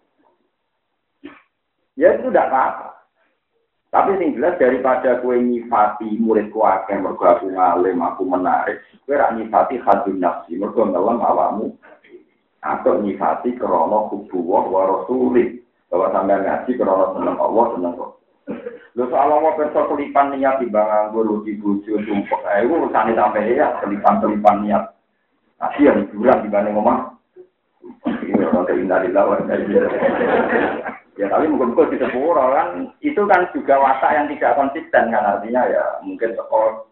Speaker 2: ya itu tidak apa-apa. Tapi sing jelas daripada kowe nyifati muridku akeh mergo aku ngalim, aku menarik, kowe ra nyifati hadun nafsi, mergo ngelem awakmu. Atau nyifati krana hubbuwah wa rasulih, bahwa sampeyan ngaji krana seneng Allah, seneng kok. Lho soal apa perso kelipan niat timbang nganggo rugi bojo sumpek. Iku urusane sampe ya kelipan-kelipan niat. Kasihan hiburan dibanding omah. Ini orang keindahan wa ya tapi mungkin di sepuro kan itu kan juga watak yang tidak konsisten kan artinya ya mungkin teko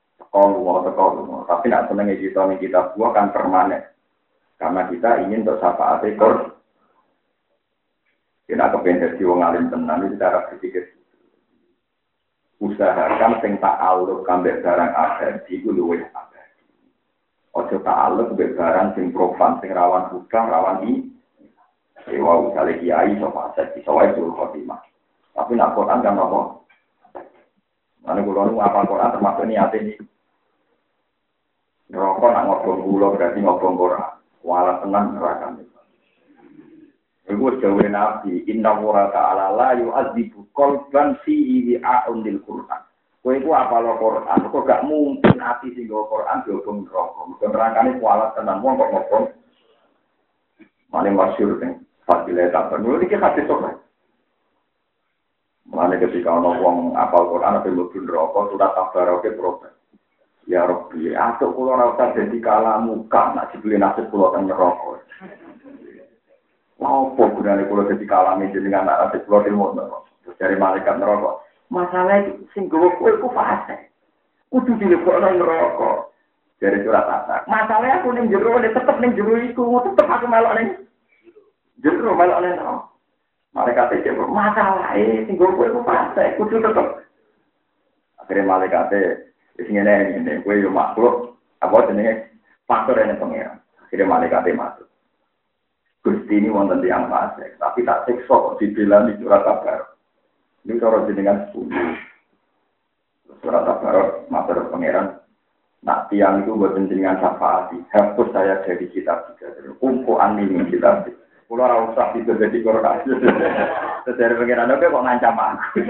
Speaker 2: tapi nak seneng kita buah kan permanen karena kita ingin untuk syafaat ekor kita kepengen jadi wong alim tenan itu cara berpikir usahakan sing ta'alluq kambek barang abadi iku luwih abadi ojo ta'alluq kambek barang sing profan sing rawan hutang rawan Ewa misalnya kiai sofa set di sawai suruh khotimah. Tapi nak Quran kan apa? Mana kulo apa Quran termasuk niat ini. Rokok nak ngobong kulo berarti ngobong Quran. Walau tenang neraka. Ibu jauh nabi. Inna wura ta'ala la yu'adzibu qalban fi'i wi'a'un Quran. Kowe iku apal Quran. Kok gak mungkin ati sing nggo Quran diobong neraka. Mungkin nerangane walau tenang wong kok ngobong. Mane masyhur ning Fadilah tak penuh ini hadis sopan. Mana ketika orang ngomong apal Quran atau lebih rokok sudah tabarok ke protes. Ya Rabbi, asuk kulo rasa jadi kalamu kan nak dibeli nasib kulo teng rokok. Mau apa gunane kulo jadi kalame jenengan nasib kulo ilmu neraka. Dari malaikat neraka. Masalah sing gowo kowe ku fase. Kudu dilebokno neraka. Dari surat At-Takwir. Masalah aku ning jero tetep ning jero iku, tetep aku melok ning jero melok ning neraka. Malaikat iki masalah sing gowo kowe ku fase, kudu tetep. Akhirnya malaikat sing ngene kowe yo makhluk apa jenenge faktor ene pengira. Akhirnya malaikat masuk. Gusti ini wonten tiyang fase, tapi tak siksa kok dibela di surat At-Takwir. Ini cara jenengan 10. Surat At-Takwir matur pangeran. Nak tiang itu buat jenengan syafaat. Hapus saya dari kitab juga. Kumpulan ini kitab. Pulau Rausah itu jadi korban. Dari pangeran oke kok ngancam aku.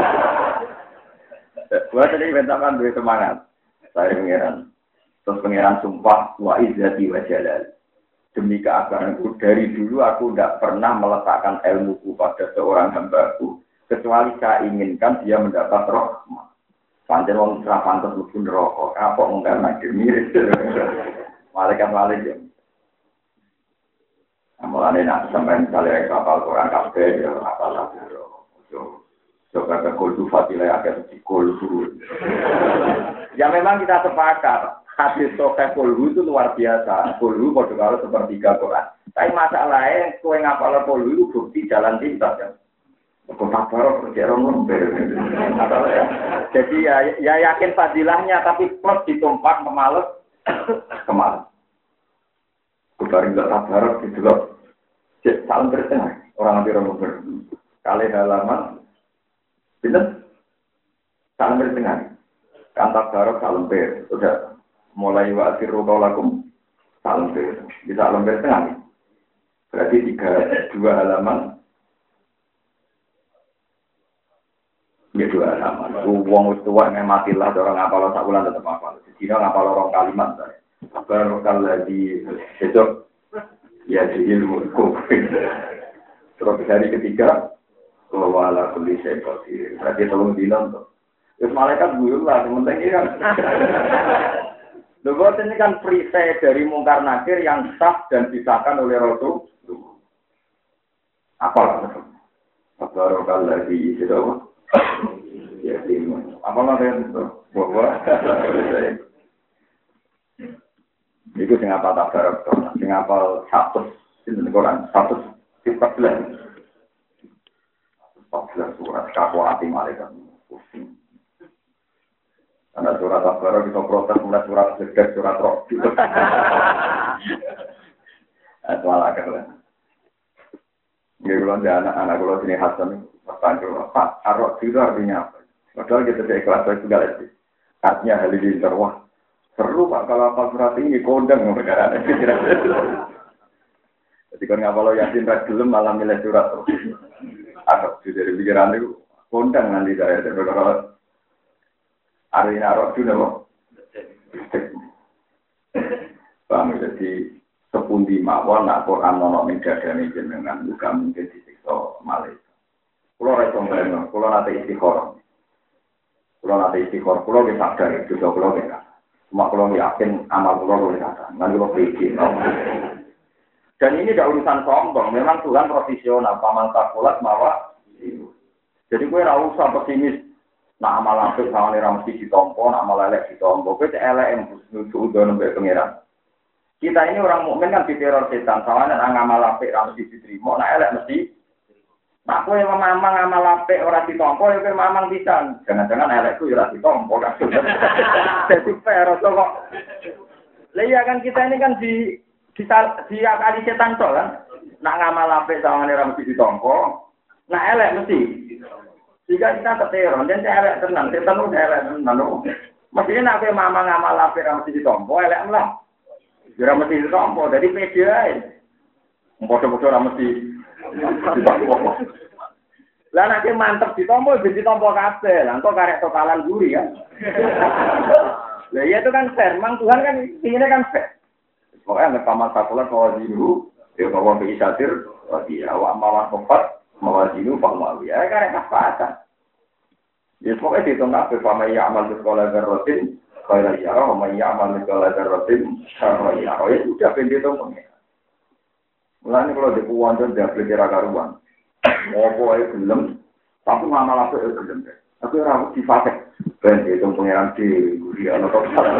Speaker 2: Buat tadi bentakan duit semangat. Saya pangeran. Terus pangeran sumpah wa izzati wa jalal. demi keabahanku dari dulu aku tidak pernah meletakkan ilmuku pada seorang hambaku kecuali saya inginkan dia mendapat rahmat. Pancen wong ora pantes mlebu neraka. Kapok mung karena mirip. Malaikat. Amane nak sampean kali kapal Quran kabeh ya apal laburo. Coba ke kultu fatilah akan kultu. Ya memang kita sepakat. Hadis Sahih Kulhu itu luar biasa. Kulhu pada kalau sepertiga Quran. Tapi masalahnya, kue ngapal Kulhu itu bukti jalan pintas kan. Kau tak baru kerja orang Jadi ya yakin fadilahnya, tapi plus ditumpak memales kemarin. Kubarin gak tak baru gitu loh. Salam bertengah orang ambil orang kali halaman, bener. Salam bertengah. Kantak baru salam ber, sudah. Mulai waktu lakum salam bisa lembar tengah. Berarti 2 halaman. Ya 2 halaman. Wong tua yang matilah orang ngapal sak bulan tetap hafal. Dina ngapal orang kalimat. Baru lagi besok ya jadi ilmu. Terus hari ketiga wala kulli syai'in qadir. Berarti tolong dina untuk. Terus malaikat guru lah, sementing kan. Lho ini kan perisai dari mungkar nakir yang sah dan disahkan oleh Rasul. Apalah itu? Barokah lagi itu apa? Ya ilmu. Apalah itu? Bahwa itu sing apa tak barokah? Sing apa 100 ini Quran 114 surat kafuati malaikat. Karena surat Al-Baqarah kita protes mulai surat Sedek, surat Roh. Itu malah kan. Ini kalau anak-anak kalau sini Hasan bertanya, Pak, Ar-Roh itu artinya apa? Padahal kita tidak ikhlas itu segala itu. Artinya halilintar, wah seru Pak kalau apa surat ini kondang perkara itu. Jadi kalau ngapal Yasin Rajulum malah milih surat Roh. Ar-Roh dari pikiran itu kondang nanti saya berkata. Arina roh juga loh. Bang jadi sepundi mawon nak Quran nono ning dadane jenengan juga mungkin disiksa malaikat. Kulo ra sombong, kulo nate istikharah. Kulo wis sadar itu kulo kan. Cuma kulo yakin amal kulo luwih kata. Nang kulo pikir. Dan ini tidak urusan sombong, memang Tuhan profesional, paman takulat mawa. Jadi gue ra usah pesimis. Nak amal apik sawane ra mesti ditampa, nak amal elek ditampa. Kowe elek nuju udo nembe pangeran. Kita ini orang mukmin kan diteror setan, sawane nak amal apik ra mesti diterima, nak elek mesti. Nak kowe mamang amal apik ora ditampa, ya kowe mamang pisan. Jangan-jangan elekku ya ora ditampa kan. Dadi perot kok. Lah iya kan kita ini kan di akali setan tok kan. Nak ngamal apik sawane ra mesti ditampa, nak elek mesti. Jika kita keteron, dan saya elek tenang, setan udah elek tenang. Mestinya nak mama ngamal lapir mesti ditompo, elek lah. Jika mesti ditompo, jadi pede aja. Bodoh-bodoh mesti ditompo. Lah nak mantep ditompo, jadi ditompo kabel. Engkau karek totalan guri ya. Lah iya itu kan fair, memang Tuhan kan inginnya kan fair. Pokoknya nggak paman sakulah kalau dulu, ya kalau beisatir, dia awak mawan kompat. Mawajinu pamawi, ya karena kesepakatan. Ya pokoknya dihitung apa, pamaya amal di sekolah darotin, kalau ya, pamaya amal di sekolah darotin, kalau ya, ya sudah dihitung pengen. Mulanya kalau di kuwantan dia beli karuan, mau belum, tapi ngamal apa belum deh. Tapi rambut dipakai, ben dihitung pengiran di dia atau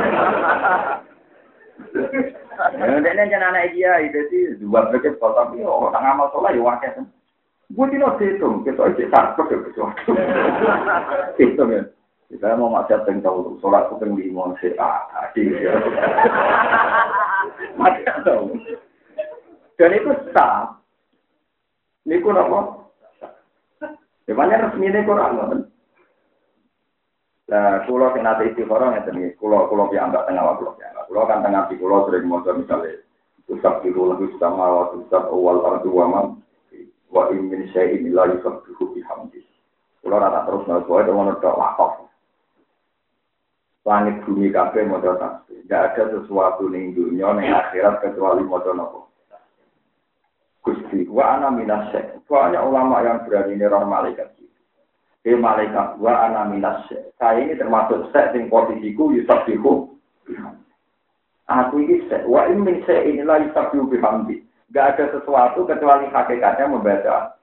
Speaker 2: Ini jangan anak dia, itu sih dua belas kalau tapi orang ngamal sholat ya wakil. Gue tidak hitung, kita isi sarkot ya sesuatu. Hitung ya. Kita mau macet yang tahu, sholat itu yang lima, adik ya. Macet tahu. Dan itu sah. Ini pun apa? Ya banyak resmi ini kurang, kan? Nah, kulo yang nanti istikharah ya, kulo piambak tengah waktu ya. Kulo kan tengah di kulo sering mau misalnya, usap dulu lebih sama waktu usap awal ardu waman. Wa min syai'in la yusabbihu bihamdi. Kula rata terus nang itu ngono tok wakaf. Langit bumi kabeh maca tasbih. Enggak ada sesuatu ning dunya ning akhirat kecuali maca napa. Gusti, wa ana minasy. Banyak ulama yang berani neror malaikat. Malaikat wa ana minasy. Saya ini termasuk sek sing posisiku yusabbihu. Aku ini sek wa in min syai'in la yusabbihu bihamdi. Enggak ada sesuatu kecuali hakikatnya membaca.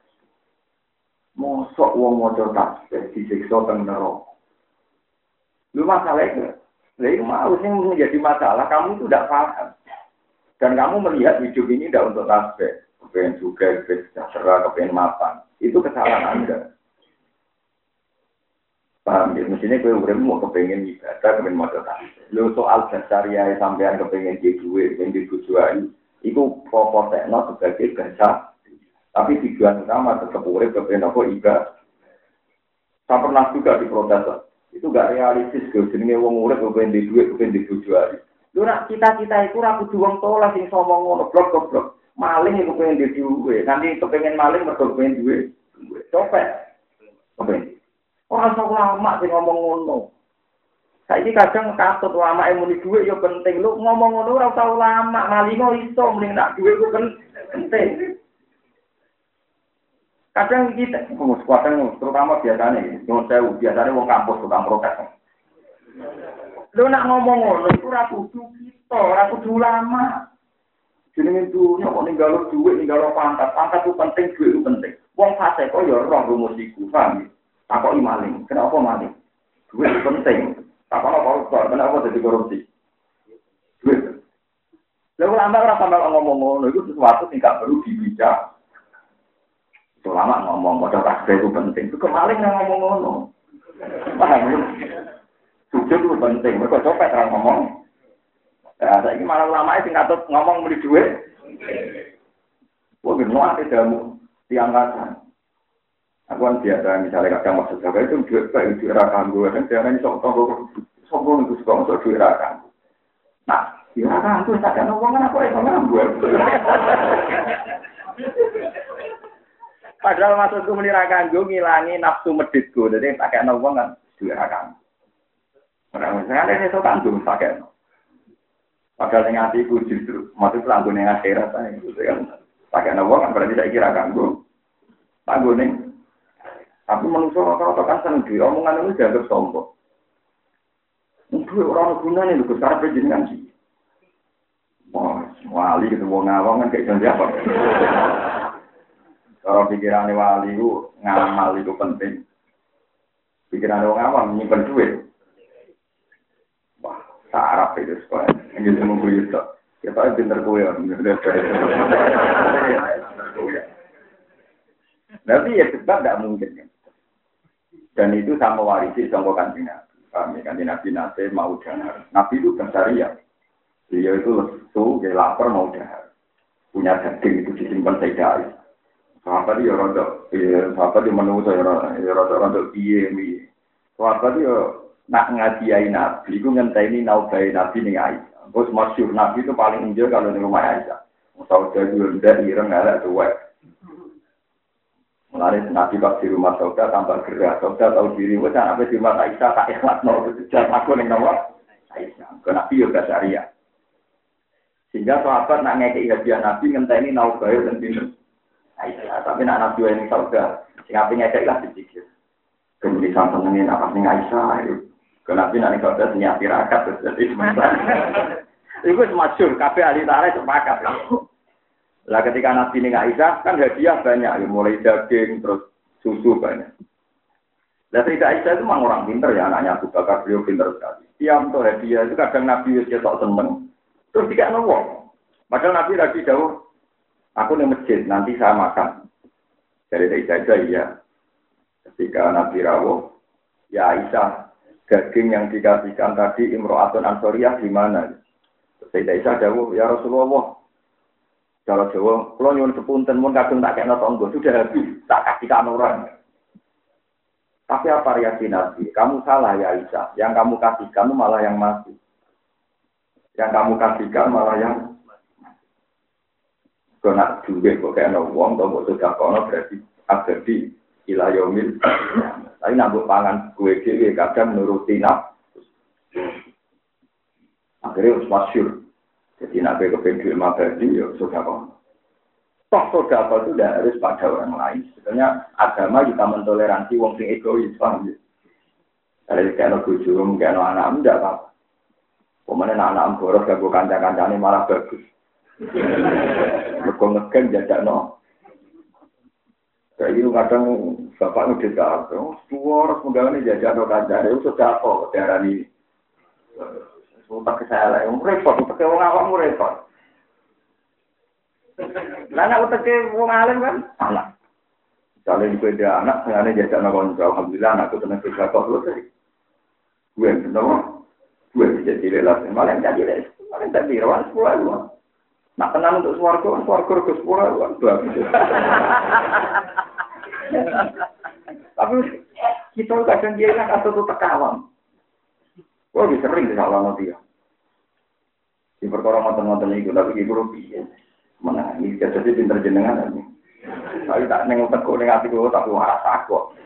Speaker 2: Mosok wong maca tasbih disiksa teng neraka. Lu masalahnya, lha mau sing menjadi masalah kamu itu tidak paham. Dan kamu melihat hidup ini tidak untuk tasbih, kepengen juga, kepengen sejahtera, kepengen mapan. Itu kesalahan Anda. Paham ya? Mestinya kau mau kepengen ibadah, kepengen maca tasbih. Lu soal dasariah sampean kepengen di duit, kepengen di tujuan, itu proporsional sebagai bahasa. Tapi tujuan utama tetap urip kepengen apa ibadah. Saya pernah juga diprotes. Itu gak realistis, jenenge wong urip kepengen di duit, kepengen di tujuan. Lu nak cita-cita itu ra kudu wong tolah sing somong ngono blok. Maling iku pengen di duit, nanti kepengen maling mergo pengen duit. Copet. Kepengen. Ora usah lama sing ngomong ngono. Saiki kadang katut ulama yang muni dhuwit ya penting. Lu ngomong ngono ora usah ulama, malingo iso mending nak dhuwit ku penting. Kadang kita terutama biasanya nyuwun sewu, biasanya wong kampus tukang protes. Lu nak ngomong ngono iku ora kudu kita, ora kudu ulama. Jenenge dunya kok ninggalo dhuwit, ninggalo pangkat. Pangkat itu penting, dhuwit itu penting. Wong fasik kok ya roh rumus iku, paham? Takoki maling. Kenapa maling? Duit penting. Takono koruptor, kenapa jadi korupsi? Duit. Lalu ulama ora sampe ngomong ngono iku sesuatu sing gak perlu dibaca. Ulama ngomong modal tasbih itu penting. Itu kemaling yang ngomong ngono. Paham? Sujud itu penting. Mereka copet orang ngomong. Ya, saiki malah ulama sing katut ngomong muni duit. Wah, benar ate damu tiang-tiang. Aku kan biasa misalnya kadang maksud saya itu duit kayak duit rakan gue kan jangan sombong itu suka masuk duit rakan. Nah, duit rakan itu tak ada ngomong kan aku ngomong gue. Padahal maksudku menirakan gue ngilangi nafsu meditku, jadi tak ada ngomong kan duit rakan. Orang misalnya ini so tanggung tak ada. Padahal yang hatiku justru maksud tanggung yang akhirat saya itu kan tak ada ngomong kan berarti saya kira kan gue tanggung nih. Tapi manusia rata-rata kan seneng duit, omongan itu dianggap sombong. Duit orang gunanya itu besar penjenengan sih. Wah, wali gitu, wong ngawang kan kayak siapa? Kalau pikirannya wali itu, ngamal itu penting. Pikirannya wong ngawang, nyimpen duit. Wah, sarap itu sekolah. Ini semua gue itu. Kita pinter gue ya. Tapi ya sebab tidak mungkin kan. Dan itu sama warisi sama kanjeng Nabi. Kami kanjeng Nabi nate mau dahar. Nabi itu bersyariah. Dia itu lesu, dia lapar mau dahar. Punya daging itu disimpan sedai. Sahabat dia rodok, sahabat dia menunggu saya rodok piye. Sahabat dia nak ngadiai Nabi. Itu ngenteni naubai Nabi ning Aisyah. Bos masyhur Nabi itu paling enjoy kalau di rumah Aisyah. Saudara dia rendah ireng elek tuwek. Mulai Nabi pas di rumah saudara tambah gerak, saudara tahu diri, wajah apa di rumah Aisyah tak ikhlas mau berjalan aku yang nama Aisyah. Ke Nabi juga syariah. Sehingga sahabat nak ngekei hadiah Nabi ngenteni naubayar dan bingung Aisyah. Tapi nak Nabi yang saudara, sehingga ngekei lah dipikir. Kemudian sampai nengen apa sih Aisyah? Ke Nabi nak saudara senyap tirakat terus jadi sementara. Itu masyhur, kabeh ahli tarikh sepakat. Lah ketika Nabi ning Aisyah kan hadiah banyak, mulai daging terus susu banyak. Lah Sayyidah Aisyah itu memang orang pintar ya, anaknya Abu Bakar beliau pintar sekali. Tiap untuk hadiah itu kadang Nabi wis ketok seneng. Terus dikakno wong. Padahal Nabi lagi dawuh, aku ning masjid nanti saya makan. Jadi Sayyidah iya. Ketika Nabi rawuh, ya Aisyah, daging yang dikasihkan tadi Imro'atun Ansoriyah di mana? Sayyidah Aisyah dawuh, ya Rasulullah, kalau Jawa, kalau nyuwun sepunten mun kadung tak kena tonggo sudah habis, tak kasihkan orang. Tapi apa reaksi Nabi? Kamu salah ya Aisyah. Yang kamu kasihkan malah yang mati. Yang kamu kasihkan malah yang kena duit kok kena uang atau kok sudah kono berarti abadi ilayomil. Tapi nambah pangan gue kadang menuruti nafsu. Akhirnya harus masyhur. Jadi nabi kepengen duit mabadi, ya sudah kok. Toh sodako itu tidak harus pada orang lain. Sebenarnya agama kita mentoleransi wong sing egois, paham ya? Kalau kalau bujum, kalau anak tidak apa-apa. Kemudian anak boros gak kancang-kancangnya malah bagus. Mereka ngegen jajak no. Kayak gitu kadang bapak ngedit apa? Suara semoga jajak no kancang. Itu sudah apa? Darah ini. Sumpah kesalahan. Repot. Pakai orang awam repot. Lah aku teke wong alim kan anak. Kalau di beda anak, sengaja jajak no konco. Alhamdulillah anakku tenang kerja kok selesai. Gue kenapa? Gue bisa jadi lelas. Malah jadi lelas. Malah jadi rawan 10 Nak tenang untuk suarga ke 10 bagus. Tapi kita kadang dia kan atau tuh tekawang. Wah, bisa sering disalah nanti ya. Di perkara mantan-mantan itu, tapi itu rugi. Mana ini jadi pinter jenengan ini. Tapi tak nengok teko neng hati gue, tapi waras aku.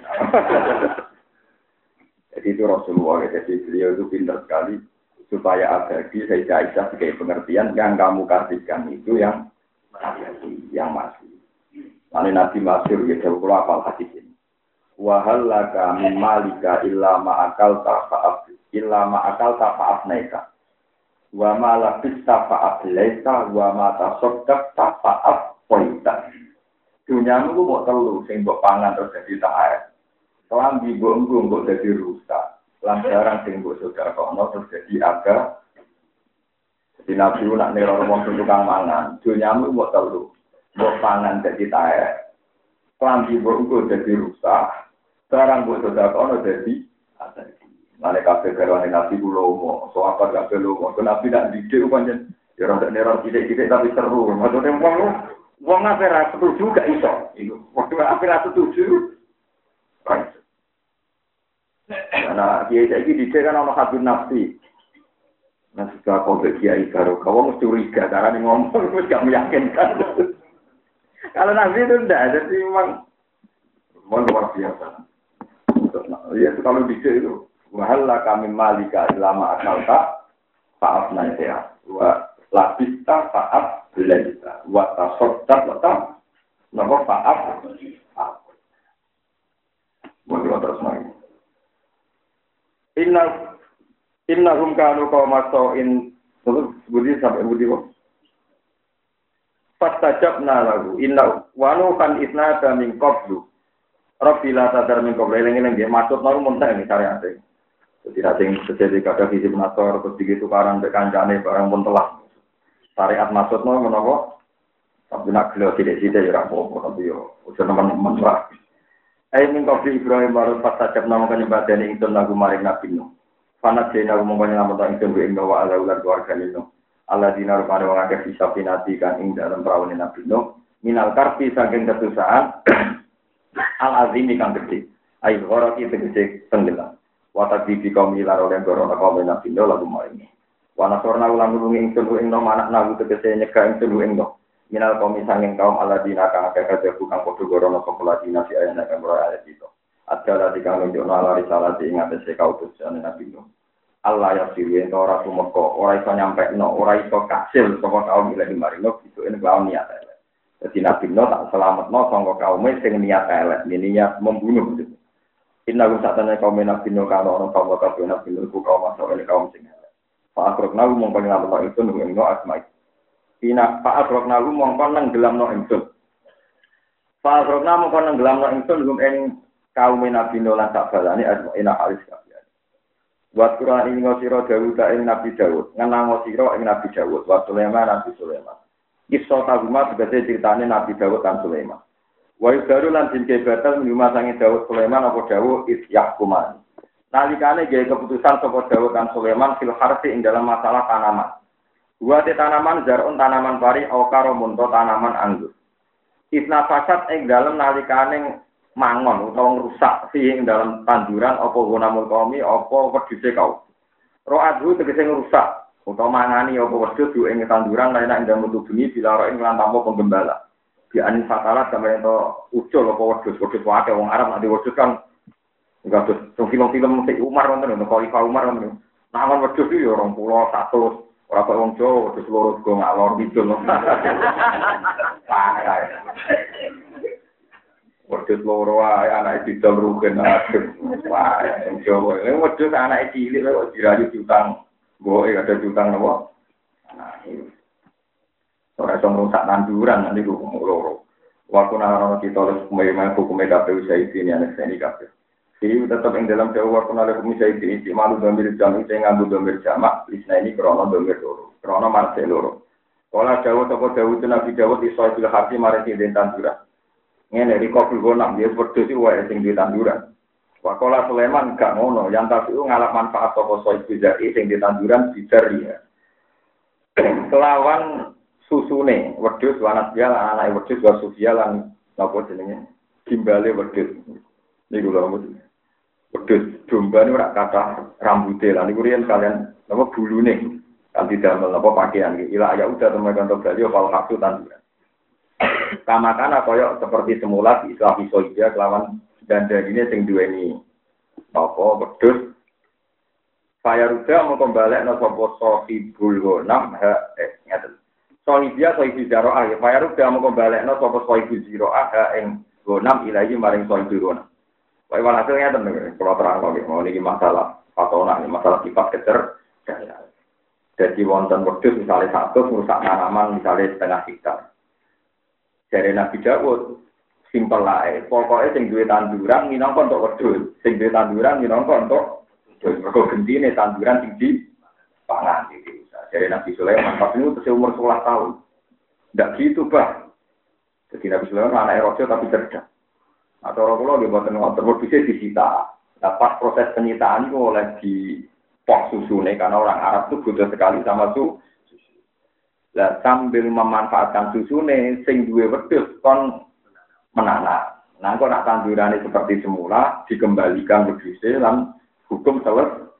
Speaker 2: Jadi itu Rasulullah, jadi beliau itu pinter sekali supaya abadi Sayyidah Aisyah sebagai pengertian yang kamu kasihkan itu yang abadi, yang masih. Lalu Nabi Masyur ya jauh kalau apal hadis ini. Wahal laka min malika illa ma'akal ta'fa'af naika. Wa ma labis ta'fa'af laisa wa ma tasoddak ta'fa'af poita. Dunyamu ku mau telu sing mbok pangan terus jadi ta'ayat. Kelambi mbok jadi rusak. Lantaran sing mbok sedekahno terus jadi aga. Jadi Nabi nak neror wong tukang mangan. Dunyamu mbok telu. Mbok pangan jadi ta'ayat. Kelambi mbok jadi rusak. Barang mbok sedekahno jadi aga. Mane kabeh garwane Nabi kula umum, so apa kabeh lho, kok Nabi tak didik pancen ya ora neror sithik-sithik tapi seru. Maksudnya wong ape ra setuju gak iso. Iku wong ape ra setuju. Right. Nah, kiai saiki didik kan ana hadun nafsi. Nah, sudah kok kiai karo kamu mesti curiga carane ngomong wis gak meyakinkan. Kalau Nabi itu ndak, jadi memang luar biasa. Ya, kalau didik itu wahalla kami malika ilama akalta fa'af naisya wa labista fa'af belaita wa tasoddak wa napa fa'af monggo terus lagi innahum kanu qaumatin terus budi sampai budi kok fastajabna lahu inna wa nukan isnada min qablu Rabbila sadar min qablu eling-eling nggih maksud nang muntah iki syariate. Jadi nanti terjadi kada fisik nasor, terus begitu karan berkancane barang pun telah syariat maksudnya menapa? Tapi nak gelo tidak-tidak ya rapopo tapi yo udah teman-teman lah. Min qabli Ibrahim baru pas sajab nama kanyembadane ingsun lagu maring Nabi Nuh. Fanat dene lagu mongko nyelamet ingsun ku ing wa ala ular keluarga Nuh. Allah dinar pada wong akeh disapinati kan ing dalam prawane Nabi Nuh. Minal karpi saking kesusahan al-azimi kang gede. Ayo ora iki tegese tenggelam. Watak bibi kaum ilar oleh gorona kaum nabi lo lagu maringi. Wana sorna ulang dulu ingsun ing nom anak nagu tegese nyegah ingsun ing nom. Minal kaum sanging kaum aladina kang akeh kabeh kang padha gorona populadina si ayana kang ora ayat itu. Adala dikang nunjukno ala risalah ing atase kautusan nabi lo. Allah ya sirien ora sumeka, ora iso nyampekno, ora iso kasil saka kaum ilahi maringo itu ing kaum niat elek. Dadi nabi lo tak selametno saka kaum sing niat elek, niat membunuh. Inna wisatanya kaum nabi Nuh kalau orang kaum wakaf nabi Nuh kaum masuk ini kaum sing elek. Pak Akroknahu mongko nyelametno itu nunggu no asmai. Ina Pak Akroknahu mongko nang gelamno ingsun. Pak Akroknahu mongko nang gelamno ingsun nunggu ing kaum nabi Nuh lan sak balane asmaina halis kabeh. Buat Quran ini ngosiro Dawud ing Nabi Dawud, ngenang ngosiro ing Nabi Dawud, wa Sulaiman Nabi Sulaiman. Kisah taguma sebagai ceritane Nabi Dawud dan Sulaiman. Wa yudaru lan dinke batal minuma sange Dawud Sulaiman apa Dawud isyahkuman. Nalikane gawe keputusan saka Dawud dan Sulaiman fil harfi ing dalam masalah tanaman. Dua tanaman zarun tanaman pari au karo munto tanaman anggur. Isna fasad ing dalam nalikane mangon utawa rusak sing dalam tanduran apa gunamul qaumi apa wedhuse kaum. Ro'adhu tegese rusak utawa mangani apa wedhus ing tanduran lain ing dalam bumi bila ing lan tanpa penggembala. Di anin fatalat sampai itu ucul apa wedhus wae wong Arab nek wedhus kan enggak tuh film-film si Umar wonten lho Khalifah Umar wonten. Nangon wedhus iki ya 20 100 Ora kok wong Jawa terus loro go ngalor ngidul. Parah. Wedhus loro ae anake didol rugen aduh. Wah, wong Jawa. Wedhus anake cilik kok dirayu diutang. Mboke ada diutang napa? Nah, ora iso ngrusak tanduran nanti ku loro. Waktu nang kita oleh hukum KPU saya ini anak saya ini KPU. Jadi tetap yang dalam jauh waktu oleh hukum saya ini malu domir jam itu yang ngambil domir jamak. Isna ini krono domir loro, krono marcel loro. Kalau jauh toko jauh itu nabi jauh di soal bilah hati mari di tanduran. Ini dari kopil gonam dia berdua wae sing di tanduran. Wakola Sulaiman gak ngono, yang tapi ngalap manfaat toko soal bilah sing di tanduran bijaria. Kelawan susune wedhus wanat dia anake wedhus wa sufia lan napa jenenge gimbale wedhus niku lho wedhus domba niku ora kathah rambuté lan niku riyen kalian napa bulune kan didamel napa pakaian iki ila ya udah temen kantor bali fal haktu tanduran kamakana kaya seperti semula di Islam isoida kelawan dandane sing duweni apa wedhus Fayaruda mau kembali nasi sahibul ghanam ngaten. Sohibia sohibu zaro'ah ya. Fayaruda mau kembali nasi sohibu zaro'ah ing ghanam ilahi maring sohibu ghanam. Wae walhasilnya tenan kalau terang lagi mau niki masalah patona ini masalah sifat kecer. Jadi wonten wedhus misalnya 100 merusak tanaman misalnya setengah hektar. Dari Nabi Dawud simpel lae. Pokoknya sing duwe tanduran minangka untuk wedhus, sing duwe tanduran minangka untuk mergo gentine tanduran tinggi pangan iki. Dari Nabi Sulaiman pas itu umur 11 tahun. Ndak gitu, Bah. Jadi Nabi Sulaiman anak raja tapi cerdas. Atau orang kula nggih boten ngoten bisa disita. Nah, pas proses penyitaan itu oleh di pok susune karena orang Arab itu butuh sekali sama susu. Lah sambil memanfaatkan susune sing duwe wedhus kon menanak. Nah, kok nak tandurane seperti semula dikembalikan wedhuse lan hukum selesai.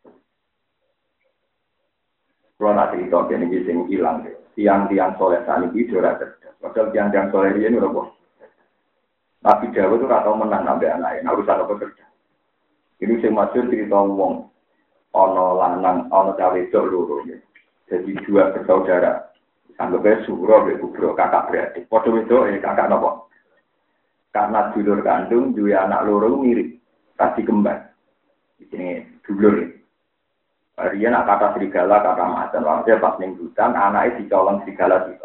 Speaker 2: Kalau nanti itu ini sing hilang, tiang-tiang soleh tani itu sudah cerdas. Padahal tiang-tiang soleh ini udah bos. Nabi Jawa itu ratau menang sampai anaknya, urusan apa kerja. Ini sing masyhur cerita wong, ono lanang, ono cawe dok loro. Jadi dua bersaudara, anggapnya Suro, Kubro, kakak beradik. Padha itu kakak nopo. Karena dulur kandung, dua anak loro mirip, kasih kembar. Ini dulur. Rian nak kata serigala, kata macan. Maksudnya pas ning hutan, anaknya dicolong serigala itu.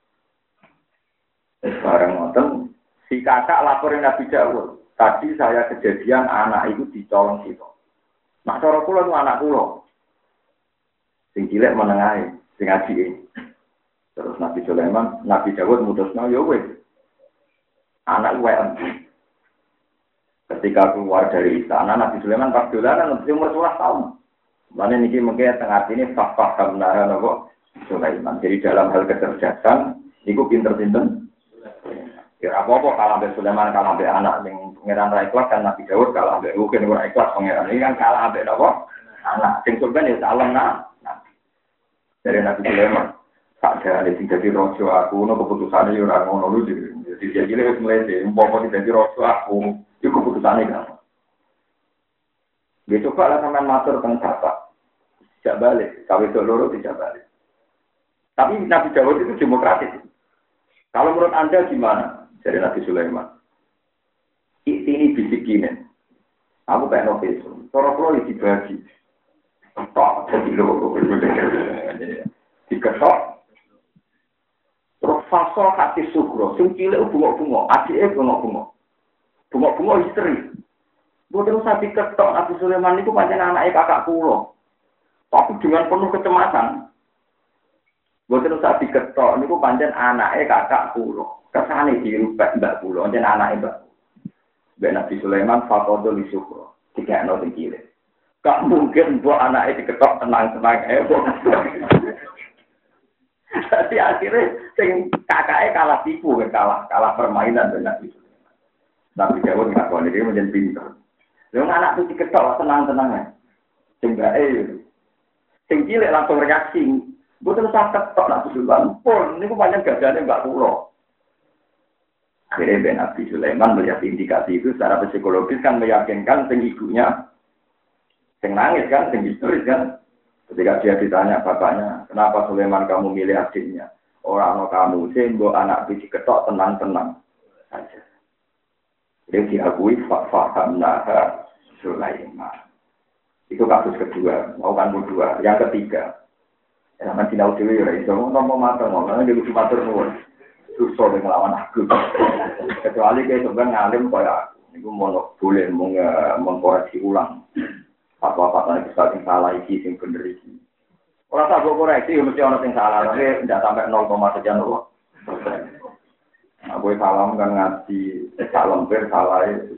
Speaker 2: Bareng ngoten, si kakak laporin Nabi Dawud. Tadi saya kejadian anak itu dicolong situ. Nah, cara kula itu anak kula. Sing cilik menengahe, sing ajike. Terus Nabi Sulaiman, Nabi Dawud mutusno ya wis. Anak wae empu. Ketika keluar dari istana, Nabi Sulaiman pas dolanan umur 11 tahun. Mana niki mungkin tengah ini fakta kebenaran apa Sulaiman. Jadi dalam hal kecerdasan, niku pinter-pinter. Ya apa-apa kalah be Sulaiman kalah be anak yang pangeran ra ikhlas kan Nabi Daud kalah be mungkin ora ikhlas pangeran ini kan kalah be napa? Anak sing surga ya salam nah. Dari Nabi Sulaiman ada sing dadi raja aku ono keputusane yo ora ngono lho jadi jadi wis mlete umpama dadi raja aku iku keputusane kan. Dia coba lah sampai matur tentang bapak. Tidak balik. Kawin loro tidak balik. Tapi Nabi Dawud itu demokratis. Kalau menurut Anda gimana? Dari Nabi Sulaiman. Ini bisikin. Aku pengen ofisum. Kalau dibagi. Ketok. Jadi loro. Diketok. Terus fasol hati sugro. Sing cilik bunga-bunga. Adiknya bunga-bunga. Bunga-bunga histeri. Boten usah diketok Nabi Sulaiman itu pancen anake kakak kula. Tapi dengan penuh kecemasan. Boten usah diketok niku pancen anake kakak kula. Kesane dirubah mbak kula, pancen anake mbak. Mbak Nabi Sulaiman faqadul syukra. Dikekno sing cilik. Gak mungkin mbok anake diketok tenang-tenang Jadi akhirnya sing kakake kalah tipu, kalah permainan dengan Nabi Sulaiman. Nabi Dawud ngakoni dia menjadi pinter. Lha anak itu diketok tenang-tenang. Sing cilik langsung reaksi. Mboten usah ketok Nabi Sulaiman. Pun niku pancen gagane Mbak kula. Akhirnya Nabi Sulaiman melihat indikasi itu secara psikologis kan meyakinkan sing ibunya sing nangis kan, sing histeris kan. Ketika dia ditanya bapaknya, kenapa Sulaiman kamu milih adiknya? Orang kamu sih, mbok anak biji ketok tenang-tenang saja. Jadi diakui fahamna Sulaiman. Itu kasus kedua, mau kan kedua. Yang ketiga, zaman sinau dewi ya iso ngomong matur ngomong dia lucu matur nuwun. Susah ngelawan aku. Kecuali kayak sebenarnya ngalim kayak aku. Niku mau boleh mengkoreksi ulang. Apa-apa itu sing salah iki sing bener iki. Ora tak koreksi mesti ana sing salah, tapi ndak sampai 0,sekian loh. Aku salam kan ngaji sak lemper salah 70%.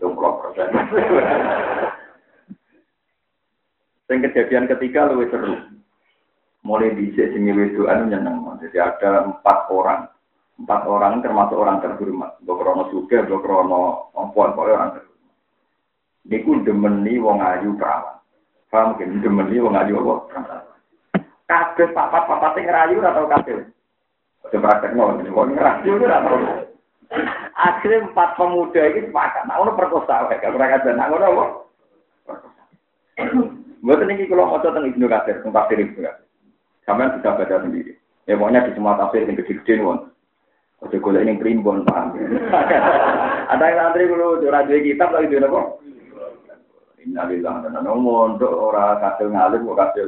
Speaker 2: Yang kejadian ketiga lebih seru. Mulai dhisik sing wedokan nyeneng. Jadi ada 4 orang. 4 orang termasuk orang terhormat. Bokrono sugih, bokrono ompon orang terhormat. Niku demeni wong ayu perawan. Paham mungkin demeni wong ayu apa? Kabeh papat-papat sing ngerayu ora tau kabeh. Ojo praktekno wong ngerayu ora tau. Akhirnya 4 pemuda ini sepakat. Nah, ono perkosa wae, gak ora kajen. Nah, ngono apa? Mboten iki kula maca teng Ibnu Katsir, teng tafsir Ibnu Katsir. Sampeyan bisa baca sendiri. Ya pokoknya di semua tafsir sing gede-gede won. Ojo golek ning primbon, paham. Ada yang antri kulo ora duwe kitab lagi duwe apa? Innalillahi wa inna ilaihi raji'un. Ora kasil ngalim kok kasil.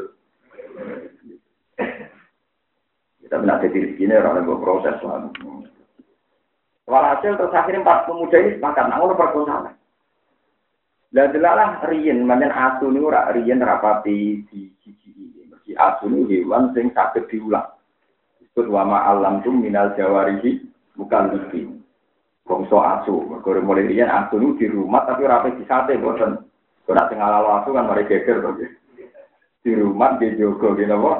Speaker 2: Kita benar jadi rezekine ora ono proses lah. Walhasil terus akhirnya 4 pemuda ini sepakat nang ono perkosaan. Lah delalah riyen manjen asu niku ora riyen rapati di siji. Mergi asu niku hewan sing saged diulang. Disebut wa ma alam tum minal jawarihi bukan lebih. Bangsa asu, mergo mulai riyen asu niku di rumah tapi ora pe disate boten. Ora sing ala asu kan mari geger to. Di rumah di jogo ngene apa?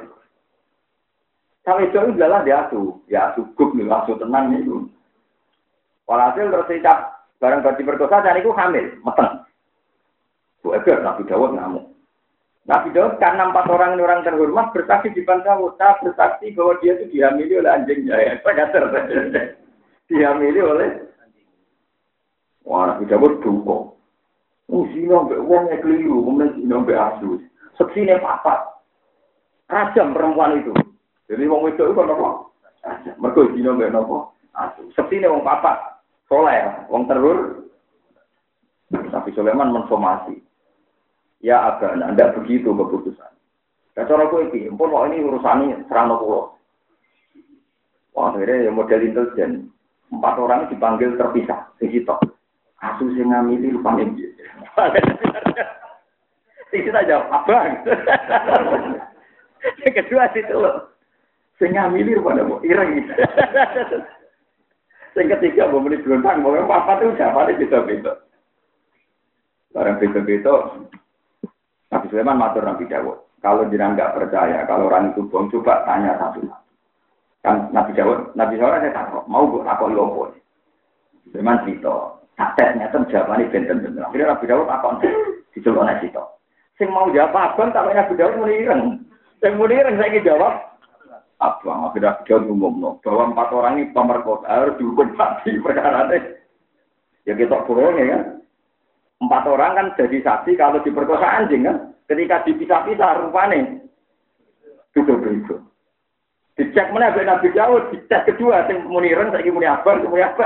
Speaker 2: Sampai itu adalah dia asu. Ya asu gub nih, asu tenang itu. Walhasil terus dicap barang berarti perkosa dan itu hamil, meteng. Bu Eber, Nabi Dawud ngamuk. Nabi Dawud karena 4 orang ini orang terhormat bersaksi di depan Dawud. Saya bersaksi bahwa dia itu dihamili oleh anjing jaya. Dihamili oleh anjing. Wah, Nabi Dawud duka. Zina mbek wong e keliru, kemudian zina mbek asu. Seksine papat. Rajam perempuan itu. Jadi wong wedok itu kan apa? Mergo zina mbek napa? Asu. Seksine wong papat. Soleh, wong terur. Nabi Sulaiman mensomasi. Ya agak anda begitu keputusan. Dan cara kowe iki, empun kok ini urusane serano kula. Wah, akhirnya ya model intelijen. 4 orang dipanggil terpisah, sing sitok. Asu sing ngamili rupane piye. Sing kita jawab, abang. Yang kedua situ loh. Sing ngamili rupane kok ireng. Sing ketiga mbok muni blontang, mbok papat itu jawabane beda-beda. Barang beda-beda. Nabi Sulaiman matur Nabi Dawud. Kalau jenengan enggak percaya, kalau orang itu bohong, coba tanya satu-satu. Kan Nabi Dawud, Nabi Sulaiman saya takut, mau gue takut lopo. Sulaiman cerita, satesnya itu jawabannya benten-benten. Akhirnya Nabi Dawud takut, diceloknya cerita. Sing mau jawab abang, tapi Nabi Dawud muni ireng. Yang muni ireng saya ingin jawab, abang. Akhirnya Nabi Dawud ngomong, bahwa 4 orang ini pemerkosa harus dihukum mati perkara ini. Ya kita bohong ya kan. 4 orang kan jadi saksi kalau diperkosa anjing kan. Ketika dipisah-pisah rupanya. Duduk-duduk. Dicek mana Nabi Dawud. Dicek kedua. Yang muniran, saya ingin muni abang.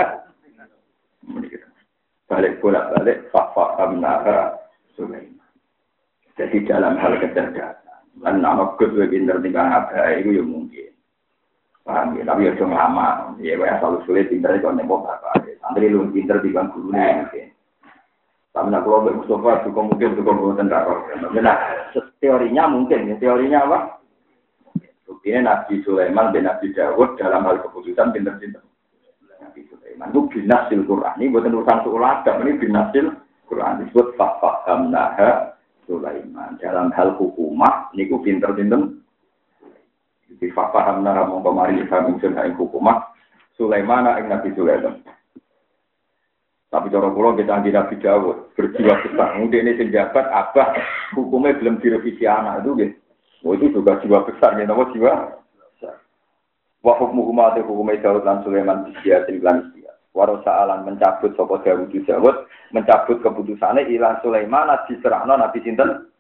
Speaker 2: Balik bolak-balik. Fahamna Sulaiman. Jadi dalam hal kecerdasan. Dan anak kedua pinter tinggal abah. Itu yang mungkin. Paham ya? Tapi ya cuma lama. Ya selalu sulit pinter. Kalau nembok bapak. Santri lu pinter tinggal gurunya mungkin. Tapi nak kalau Mustafa juga mungkin tentara. Nah, teorinya mungkin, teorinya apa? Ini Nabi Sulaiman dan Nabi Dawud dalam hal keputusan pinter-pinter. Nabi Sulaiman itu binasil Quran. Ini bukan urusan suulatam, ini binasil Quran. Disebut fahamnaha Sulaiman. Dalam hal hukumah, ini ku pinter-pinter. Jadi fahamnaha mengkomari kami sunhain hukumah. Sulaiman ing Nabi Sulaiman. Tapi cara kula kita anggere Nabi Dawud berjiwa besar. Mungkin ini penjabat abah hukumnya belum direvisi anak itu gitu. Oh itu juga jiwa besar ya, nama jiwa. Wa hukmuhuma hukumai Dawud lan Sulaiman bisiatin lan sia. Warosa alan mencabut sapa Dawud mencabut keputusane ilang Sulaiman diserahno Nabi sinten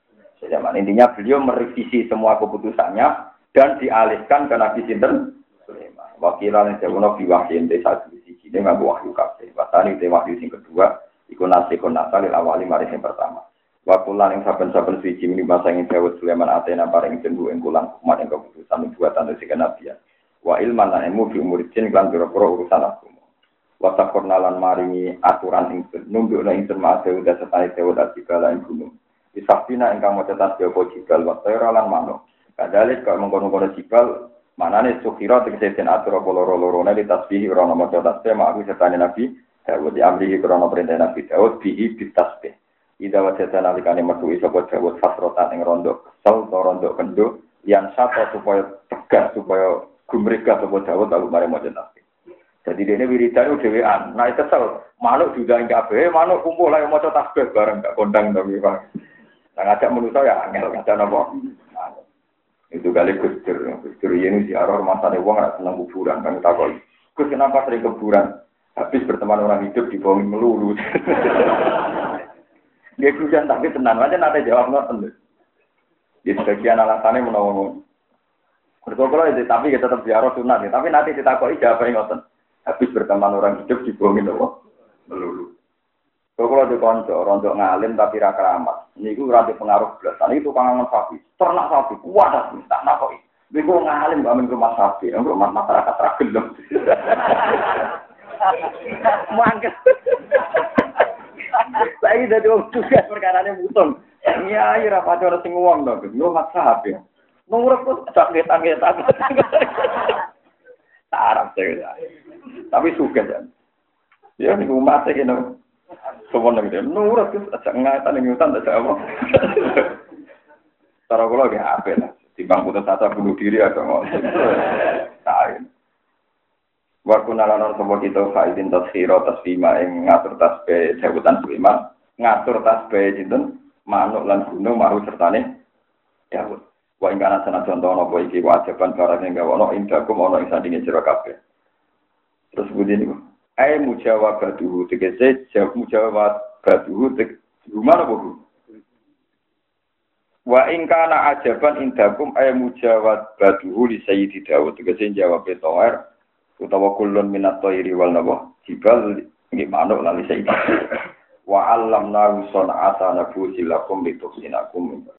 Speaker 2: zaman. Intinya beliau merevisi semua keputusannya dan dialihkan ke Nabi Sinten Sulaiman. Wakilan yang jauh biwahyin desa di sini nggak wahyu kabeh. Wasani te wahyu sing kedua, iku nasikun nasalil awali mari yang pertama. Wakulan yang saben-saben suci ini masa yang Dawud Sulaiman atena paring jendu ing kulan umat yang keputusan buatan dari kenabian. Wa ilman lan ilmu fi umuridin lan biro-biro urusan agama. Wa takornalan maringi aturan ing nundukna ing termasuk udah setane Dawud atibala ing gunung. Isafina ingkang maca tasbih apa jibal wa tayra lan manuk. Kadalik kok mengkono-kono jibal manane sukira tegese den atur apa loro-lorone di tasbih ora ana maca tasbih mak sertane Nabi Dawud diamri krana perintah Nabi Dawud bihi bitasbih. Ida wajata nalikane metu sapa Dawud fasrotan ing rondo kesel to rondo kendo yang satu supaya tegas supaya gumregah sapa Dawud lalu mari maca tasbih. Jadi dene wiridan dhewean. Nah kesel manuk diundang kabeh manuk kumpul ayo maca tasbih bareng gak kondang to Pak. Nah, ngajak manusia ya angel, ngajak apa? Itu kali Gustur ini ziarah rumah sana uang nggak senang kuburan, kan takoi. Gus kenapa sering kuburan? Habis berteman orang hidup dibohongin melulu. Dia hujan tapi tenang aja, nanti jawab nggak di sebagian alasannya menolong. Berkolah itu tapi kita tetap ziarah sunat, tapi nanti ditakoi jawabnya ngoten. Habis berteman orang hidup dibohongin apa? Melulu. Kalau di konco, rontok ngalim tapi ra keramat. Niku ora pengaruh blas. Itu kangen sapi, ternak sapi, kuat tak nakoi. Niku ngalim amin rumah sapi, rumah masyarakat ra gelem. Mangkel. Saya dadi wong tugas perkarane mutung. Iya, ora padha sing wong to. Yo mak sapi. Nurut kok tak Arab saya. Tapi suka kan. Ya niku mate kene. Soalnya gitu, nurut itu aja ngatan yang nyutan aja apa. Cara kalau gak apa lah, timbang putus asa bunuh diri atau mau. Tahu. Waktu nalanan semua kita faidin tasfiro tasfima yang ngatur tasbih jabutan Sulaiman, ngatur tasbih itu manuk lan gunung maru sertane Dawud. Wa ing kana sana contoh apa iki wajiban barang yang gak ono indakum ono ing sandinge sira kabeh. Terus begini kok. Ai mujawabatuhu tegese mujawabatuhu gimana Bu? Wa in kana ajaban indakum ay mujawabatuhu li sayyidi Dawud tegese jawab tower utawa kullun minat thairi wal nabah jibal nggih manuk lan li sayyidi wa allamna sun'ata nabusilakum litusinakum